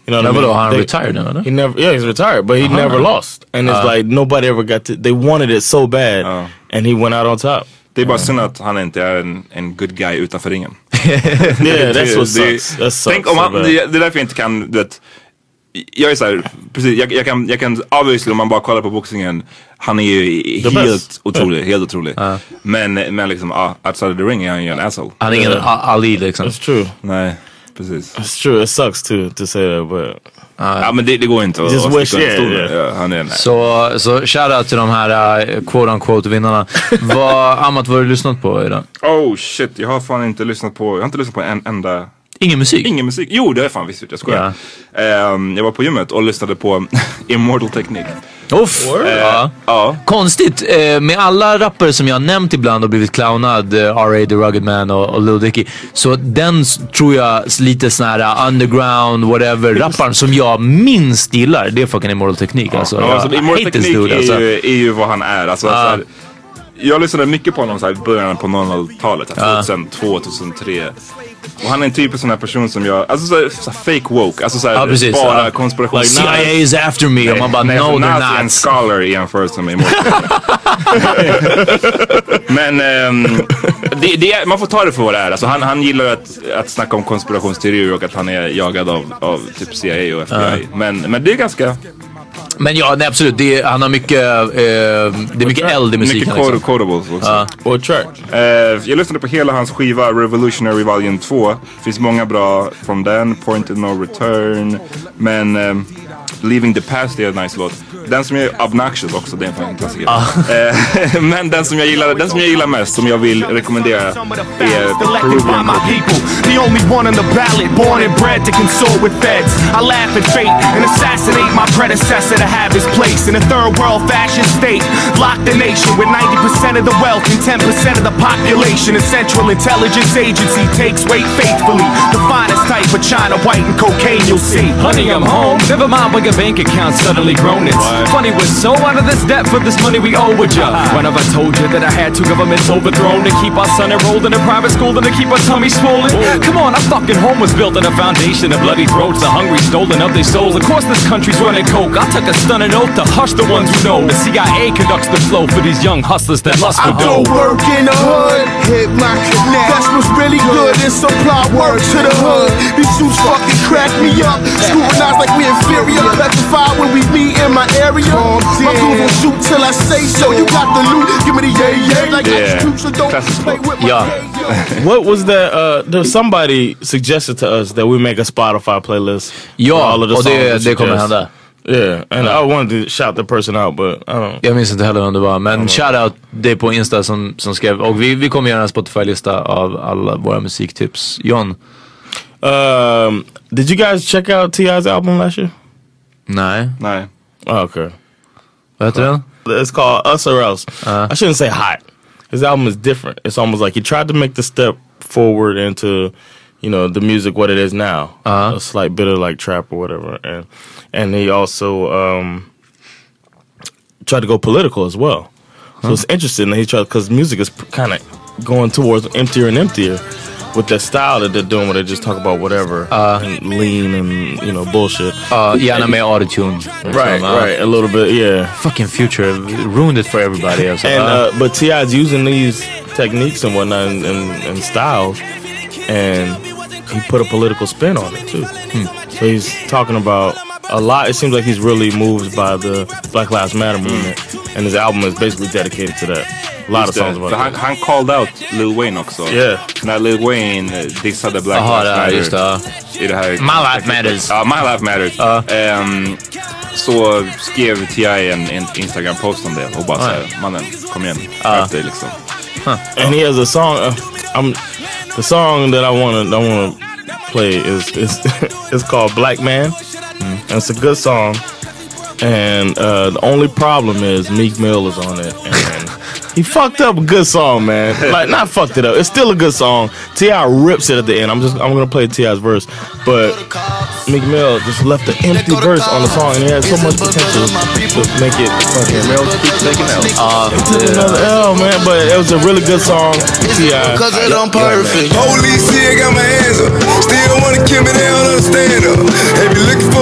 You know what I Never mean? Han They- retired now, no? He never, yeah, he's retired, but he Uh-huh. never lost. And it's Uh. like nobody ever got to. They wanted it so bad, and he went out on top. Det är bara synd att han inte är en, en good guy utanför ringen. Yeah, that's what Det- sucks. That sucks Tänk om so han, bad. det, det är därför jag inte kan, du vet. Jag är såhär, precis, jag, jag kan, jag kan obviously om man bara kollar på boxningen, han är ju The helt best. otrolig, Yeah. helt otrolig. Uh. Men, men liksom, ja, uh, outside of the ring är han ju en asshole. Han är ingen Yeah. A- Ali liksom. It's true. Nej, precis. It's true. It sucks to to say that, but Ja men det, det går inte att Just att wish, sticka under yeah, stolen. yeah. Ja, han är en, Så, så shoutout till de här uh, quote unquote vinnarna. Vad, Amat, vad har du lyssnat på idag? Oh shit, jag har fan inte lyssnat på, jag har inte lyssnat på en enda. Ingen musik? Ingen musik. Jo, det har jag fan visst, jag skojar. Ehm, jag var på gymmet och lyssnade på Immortal Technique. Uff, Eh, ja. ja. Konstigt, eh, med alla rappare som jag har nämnt ibland och blivit clownad, eh, R A, The Rugged Man och, och Lil Dicky. Så den s- tror jag s- lite sån här uh, underground, whatever, rapparen som jag minst gillar, det är fucking Immortal Technique. Alltså, Ja, jag alltså, Immortal hate this Technique dude, är, alltså. ju, är ju vad han är. Alltså, Ja. så här, jag lyssnade mycket på honom så här, i början på nolltalet, så här, Ja. tjugohundratvå, tjugohundratre. Och han är en typ av sån här person som jag, alltså så här, så här fake woke, alltså så här, Ja, precis, bara ja. konspiration. Like, C I A is after me, och man bara, nej, no alltså, they're Nazi är en not. scholar i jämförelse med Immortal. Men ehm, det, det är, man får ta det för vad det är. Alltså, han, han gillar att, att snacka om konspirationsteorier och att han är jagad av, av typ C I A och F B I. Ja. Men, men det är ganska... Men ja, nej, absolut, det är, han har mycket, eh, det är mycket eld i musiken. Mycket Liksom. quotables också. Ja. What track? Eh, jag lyssnade på hela hans skiva Revolutionary Volume två. Finns många bra från den. Point of No Return. Men ehm, Leaving the Past är en nice låt. Den som är Obnoxious också, det är en fan klassiker. Eh, men den som jag gillar, den som jag gillar mest, som jag vill rekommendera, är Peruvian Cookie. The only one on the ballot, born and bred to console with feds. I laugh at fate and assassinate my predecessor to have his place in a third world fascist state. Lock the nation with ninety percent of the wealth and ten percent of the population. A central intelligence agency takes weight faithfully. The finest type of China, white and cocaine you'll see. Honey, I'm home. Never mind when your bank account suddenly grown. It's funny, we're so out of this debt for this money we owe with ya. When have I told you that I had two governments overthrown to keep our son enrolled in a private school and to keep our tummy swollen? Come on, our fucking home was built on a foundation of bloody throats, the hungry stolen of their souls. Of course this country's running coke. I took a stunning oath to hush the ones who know. The C I A conducts the flow for these young hustlers that lust for I do dough. work in the hood, hit my connect. That's what's really good and supply work to the hood. These suits fucking crack me up. Scrutinized like we inferior. Petrified when we meet in my area. My crew will shoot till I say so. You got the loot, give me the yay yay. Like Yeah. I so don't play with my Yeah. What was that? Uh, there somebody suggested to us that we make a Spotify playlist. Ja, for all of the och det- songs det kommer suggest. hända. Yeah, and I wanted to shout the person out, but I don't. Jag minns inte heller vem det var, men shoutout det på Insta som, som skrev, och vi, vi kommer göra en Spotify-lista av alla våra musiktips. John? Um, did you guys check out T I's album last year? Nej. Nej. Oh, okay. Vad heter den? It's called Us or Else. I shouldn't say hot. His album is different. It's almost like he tried to make the step forward into, you know, the music what it is now. Uh-huh. A slight bit of like trap or whatever, and and he also um, tried to go political as well. So Huh. it's interesting that he tried, because music is kind of going towards emptier and emptier with that style that they're doing, where they just talk about whatever and lean and you know bullshit. Uh, gärna med autotune. Right, right, a little bit, yeah. Fucking Future ruined it for everybody. Alltså. And Uh, uh, but T I's using these techniques and whatnot and, and, and styles, and he put a political spin on it too. So he's talking about a lot. It seems like he's really moved by the Black Lives Matter movement, and his album is basically dedicated to that. A lot Just of songs det. about För han, that. han called out Lil Wayne också. Yeah. När Lil Wayne eh, dissade Black Aha, Lives ja, Matter. just det. I det här. My life matters. Ja, My Life Matters. Ehm, så skrev T I en, en Instagram-post om det och bara Ja. såhär, mannen, kom igen, Ja. skärp dig liksom. And he has a song. Uh, I'm the song that I want to I want to play is is it's called Black Man, and it's a good song. And uh, the only problem is Meek Mill is on it, and he fucked up a good song, man. Like not fucked it up. It's still a good song. T I rips it at the end. I'm just I'm gonna play T I's verse, but Meek Mill just left an empty verse on the song, and he had so much potential to make it fucking Mill keeps making L. Uh, He took another L, man, but it was a really good song. T I. Cause it I'm perfect. Holy shit, got my hands up. Still wanna kill me, they don't understand her. If you looking for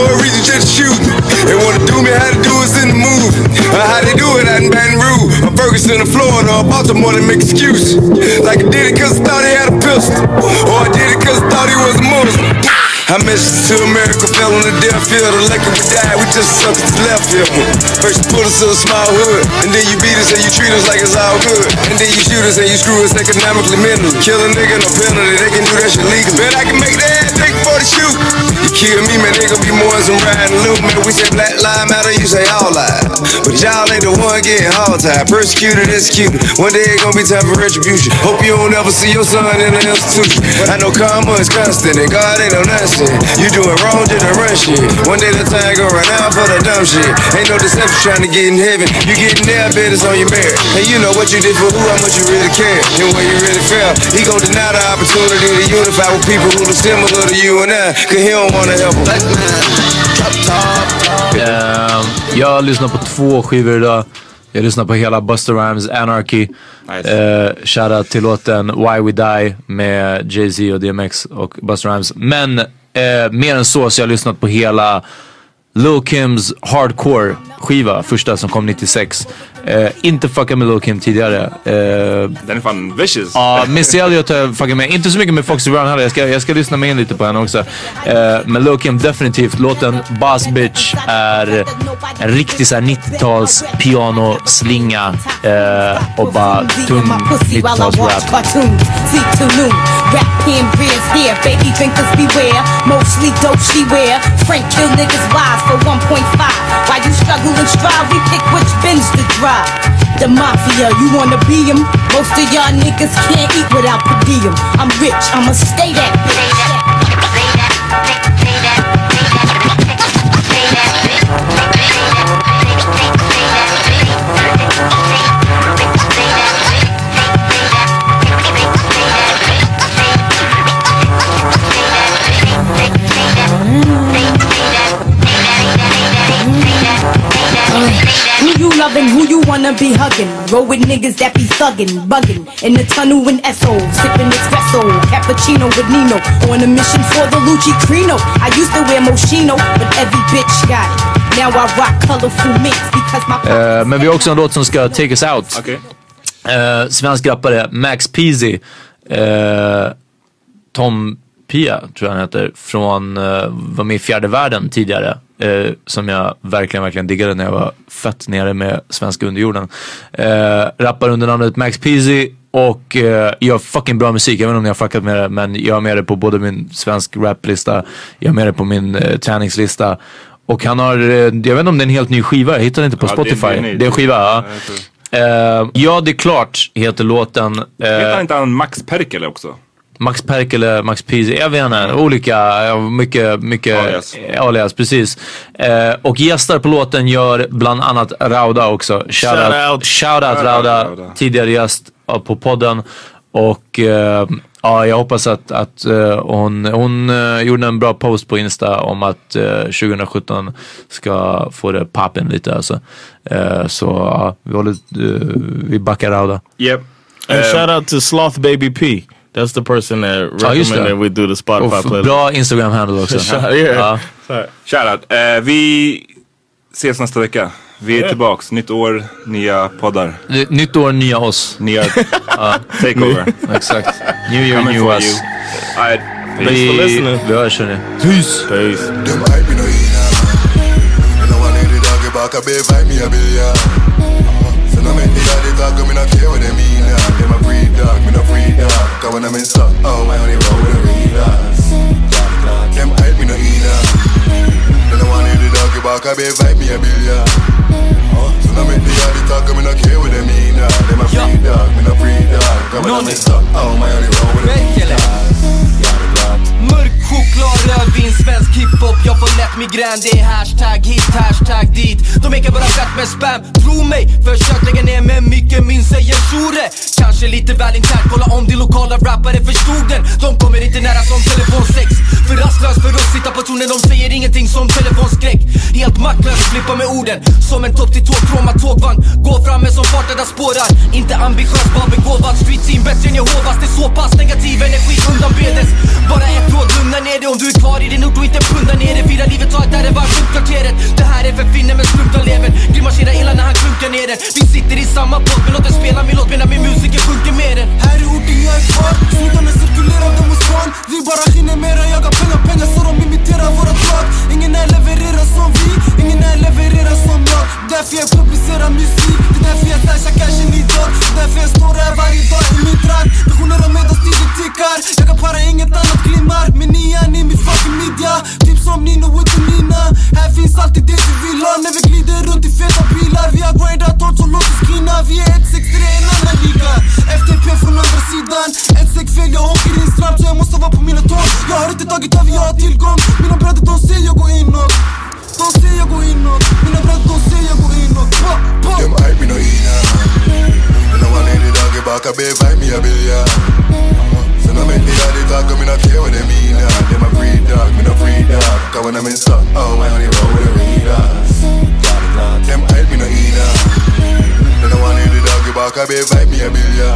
wanna make excuses. Like I did it cause I thought he had a pistol, or I did it cause I thought he was a Muslim. I messaged to America, fell on the death field. The lucky we died, we just sucked his left hip. First you put us in a small hood, and then you beat us and you treat us like it's all good. And then you shoot us and you screw us economically, mentally. Kill a nigga, no penalty, they can do that shit legally. Bet I can make that take for the shoot. You kill me, man, they gon' be more than some riding loot. Man, we say black lives matter, you say all lives. But y'all ain't the one getting hog-tied, persecuted, executed. One day it gon' be time for retribution. Hope you don't ever see your son in the institution. I know karma is constant and God ain't no nonsense. You doing wrong, just to run shit. One day the time gon' run out for the dumb shit. Ain't no deception trying to get in heaven. You getting there, bet it's on your merit. And you know what you did for who, how much you really care, and where you really fell. He gon' deny the opportunity to unify with people who are similar to you and I, cause he don't wanna help them. uh, Jag lyssnar på två skivor idag. Jag lyssnar på hela Busta Rhymes Anarchy. Nice. uh, Shoutout till låten Why We Die med Jay-Z och D M X och Busta Rhymes. Men uh, mer än så så jag har lyssnat på hela Lil Kims Hardcore skiva, första som kom nittiosex. Uh, inte fucka med Lil Kim tidigare. Uh, Den är fan vicious. Ja, uh, Missy Elliott har jag fuckat med. Inte så mycket med Foxy Brown heller. Jag ska, jag ska lyssna med in lite på henne också. Uh, men Lil Kim definitivt. Låten Boss Bitch är en riktig såhär nittio-tals pianoslinga uh, och bara tung nittio-tals rap. Rap him, beers here, baby drinkers beware. Mostly dope she wear. Frank kill niggas wise for one point five. While you struggle and strive, we pick which bins to drive. The mafia, you wanna be him? Most of y'all niggas can't eat without per diem. I'm rich, I'ma stay that bitch. Who you loving, who you wanna be hugging? Roll with niggas that be thuggin', buggin'. In the tunnel in S O, sippin' espresso. Cappuccino with Nino, on a mission for the Lucci Crino. I used to wear Moschino, but every bitch got it. Now I rock colorful mix because my... Uh, men vi har också en låt som ska take us out. Okay. Uh, svensk rappare Max Peasy. Uh, Tom Pia tror jag han heter. Från, uh, var med i Fjärde Världen tidigare. Uh, som jag verkligen, verkligen diggade när jag var fett nere med svenska underjorden. Uh, rappar under namnet Max Peasy och uh, gör fucking bra musik. Jag vet inte om ni har fuckat med det, men jag har med det på både min svensk raplista, jag har med det på min uh, träningslista. Och han har, uh, jag vet inte om det är en helt ny skiva, jag hittar den inte på ja, Spotify. Det är, det är, det är en skiva, ja. Uh, ja, det är klart, heter låten. Uh, heter inte han Max Perkele också? Max Perkele, Max Peasy, jag vet inte, olika, mycket, mycket alias, alias precis. Uh, och gästar på låten gör bland annat Rauda också. Shoutout, shoutout, shoutout Rauda, Rauda, tidigare gäst på podden. Och uh, ja, jag hoppas att, att uh, hon, hon uh, gjorde en bra post på Insta om att uh, tjugo sjutton ska få det poppen lite alltså. Uh, så uh, vi håller, uh, vi backar Rauda. Yep. And um, shout out to Sloth Baby P. That's the person that recommended we do the Spotify oh, playlist. Bra Instagram handle också. Shout, yeah. uh, shout out. Uh, vi ses nästa vecka. Vi är yeah. tillbaks. Nytt år, nya poddar. N- nytt år, nya oss. Nya uh, takeover. Exakt. New year, new us. Right. Thanks vi, for listening. Vi hörs hörni. Peace. Peace. Cause when I'm in stuck, oh, I only roll with a relapse. Them hype me no either. They don't want to hear the doggy bark, I be vibe me a billion. So now make the yardie talk, I'm not care with them either. Them a free dog, me no free dog. Cause when I'm in stuck, oh, I only roll with a relapse. Mörk choklad, rödvin, svensk hiphop. Jag får lätt migrän, det är hashtag hit, hashtag dit. De ekar bara fett med spam, tro mig. Försök lägga ner med mycket, min säger Shure. Kanske lite väl internt, kolla om de lokala rappare förstod den. De kommer inte nära som telefonsex. För rastlös för att sitta på tonen, de säger ingenting som telefonskräck. Helt maktlös, flippa med orden. Som en topp till tåg, kroma tågvagn. Gå fram med som farten där spårar. Inte ambitiös, bara begåvad. Street team, bättre än Jehovas. Det är så pass negativ energi undanbedes. Bara ett råd, lugna ner dig om du är kvar i din ort och inte punda ner det. Fira livet, ta ett där det var kvarteret. Det här är för finne med skrupta leven. Grimasera illa när han klunkar ner den. Vi sitter i samma båt. Men låt den spela min låt medan min musiker sjunker med den. Här är orten jag är kvar, snodarna cirkulerar dem hos barn. Vi bara hinner mera, jagar pengar, pengar så de imiterar våra drag. Ingen är levererar som vi, ingen är levererar som jag. Därför jag publicerar musik, det är därför jag stashar cashen idag. Därför jag står här varje dag i min trakt. Visioner om medan tiden tickar. Jag kan para inget annat glimmar. Men ni är ni min fucking media. Typ som Nino och Nina. Här finns alltid det vi vill ha. När vi glider runt i feta bilar. Vi har grindat hårt så låt oss skina. Vi är ett sex tre en annan liga. F T P från andra sidan. Ett sex fel, jag åker in snabbt så jag måste vara på mina tår. Jag har inte tagit över, jag har tillgång. Mina bröder de ser jag gå inåt. De ser jag gå inåt. Mina bröder de ser jag gå inåt. Dem hype me no ina. No one need the dog back a bit fight me a billion. So no make the daddy talk, me no care what they mean. Them a free dog, me no free dog. Cause when I'm in stuck, oh my only roll with the readers. Them hype me no ina. No one need the dog back a bit fight me a billion.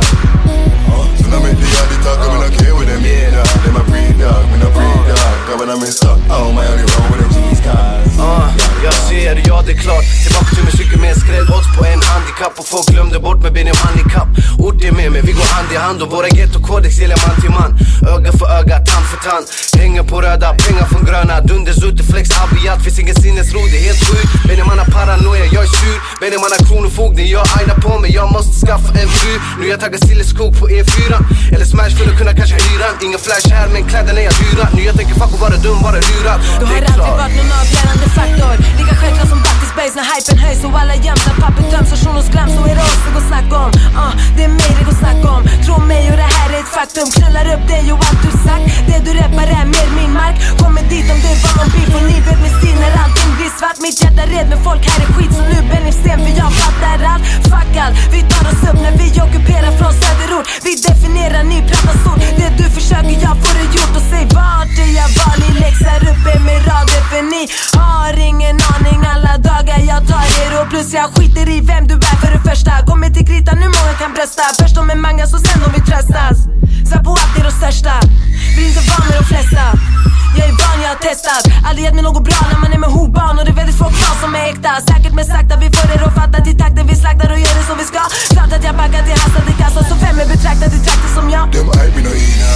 So no make the daddy talk, me no care what they mean. Them a free dog, me no free dog. Cause when I'm in stuck, oh my only roll with the G's cars. Uh, jag ser, ja det är klart. Tillbaka till musik med skrädd odds på en handikapp. Och folk glömde bort med ben om handikapp. Ord är med mig, vi går hand i hand. Och våra ghetto-kodex gäller man till man. Öga för öga, tand för tand. Hänger på röda, pengar från gröna. Dunders ute, flex, abiyat. Finns ingen sinnesro, det är helt sjukt. Ben man har paranoia, jag är sur. Ben man har kronofogden, jag aina på mig. Jag måste skaffa en fru. Nu jag taggar silleskog på E fyra. Eller smash för att kunna kanske hyra. Ingen flash här, men kläderna är dyra. Nu jag tänker fuck och vara dum, bara lurad. Du har aldrig varit någon avgörande faktor. Lika självklart som back to space när hypen höjs och alla göms. När pappret töms och shunos glöms så är det oss det går snack om. uh, Det är mig det går snack om. Tro mig och det här är ett faktum. Knullar upp dig och allt du sagt. Det du rappar är mer min mark. Kommer dit om det var någon beef och ni vet min stil när allting blir svart. Mitt hjärta red med folk här är skit så nu bär ni sten för jag fattar allt. Fuck allt, vi tar oss upp när vi ockuperar från söderort. Vi definierar ny pratar stort. Det du försöker jag får det gjort. Och säg vart är jag vanlig läxar uppe med rader för ni har ingen aning alla dagar jag tar er och plus jag skiter i vem du är för det första. Kommer till kritan nu många kan brösta. Först de är manga så sen de vill tröstas. Så på allt är de största. Vill inte vara med de flesta. Jag är van, jag har testat. Aldrig gett mig något bra när man är med hobarn. Och det är väldigt få kvar som är äkta. Säkert men sakta vi får er att fatta. Till takten vi slaktar och gör det som vi ska. Klart att jag backar till hastat i kassan. Så fem är betraktat i trakter som jag. Dem hype me no ina.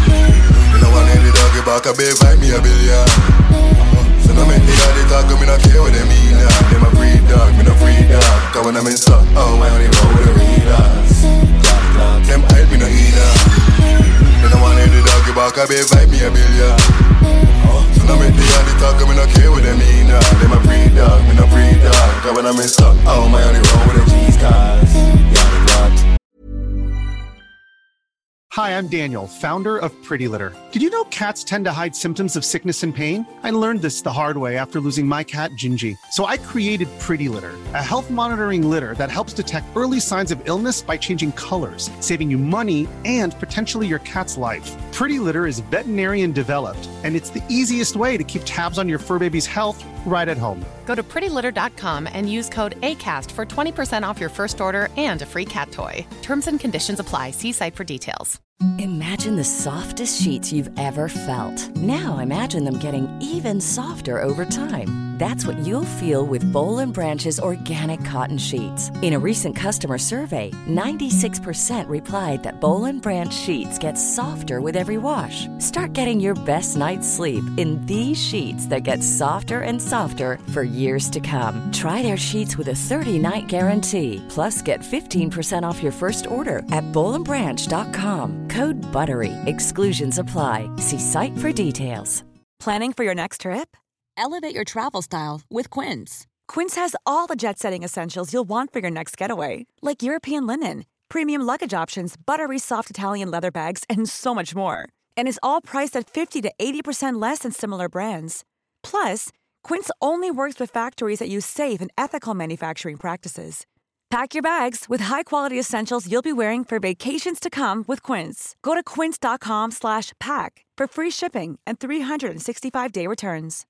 You know I need the dog back a bit fight me a billion. So no make the daddy talk, me no care what they mean. Them a free dog, me no free dog. Cause when I'm in stuck, oh my only roll with the readers. Them hype me no ina. You know I need the dog back a bit fight me a billion. So no make the daddy talk, me no care what they mean. Them a free dog, me no free dog. Cause when I'm in stuck, oh my only roll with the G's cars. Hi, I'm Daniel, founder of Pretty Litter. Did you know cats tend to hide symptoms of sickness and pain? I learned this the hard way after losing my cat, Gingy. So I created Pretty Litter, a health monitoring litter that helps detect early signs of illness by changing colors, saving you money and potentially your cat's life. Pretty Litter is veterinarian developed, and it's the easiest way to keep tabs on your fur baby's health right at home. Go to pretty litter dot com and use code ACAST for twenty percent off your first order and a free cat toy. Terms and conditions apply. See site for details. Imagine the softest sheets you've ever felt. Now imagine them getting even softer over time. That's what you'll feel with Boll and Branch's organic cotton sheets. In a recent customer survey, ninety-six percent replied that Boll and Branch sheets get softer with every wash. Start getting your best night's sleep in these sheets that get softer and softer for years to come. Try their sheets with a thirty-night guarantee. Plus, get fifteen percent off your first order at boll and branch dot com. Code BUTTERY. Exclusions apply. See site for details. Planning for your next trip? Elevate your travel style with Quince. Quince has all the jet-setting essentials you'll want for your next getaway, like European linen, premium luggage options, buttery soft Italian leather bags, and so much more. And is all priced at fifty to eighty percent less than similar brands. Plus, Quince only works with factories that use safe and ethical manufacturing practices. Pack your bags with high-quality essentials you'll be wearing for vacations to come with Quince. Go to quince dot com slash pack for free shipping and three sixty-five day returns.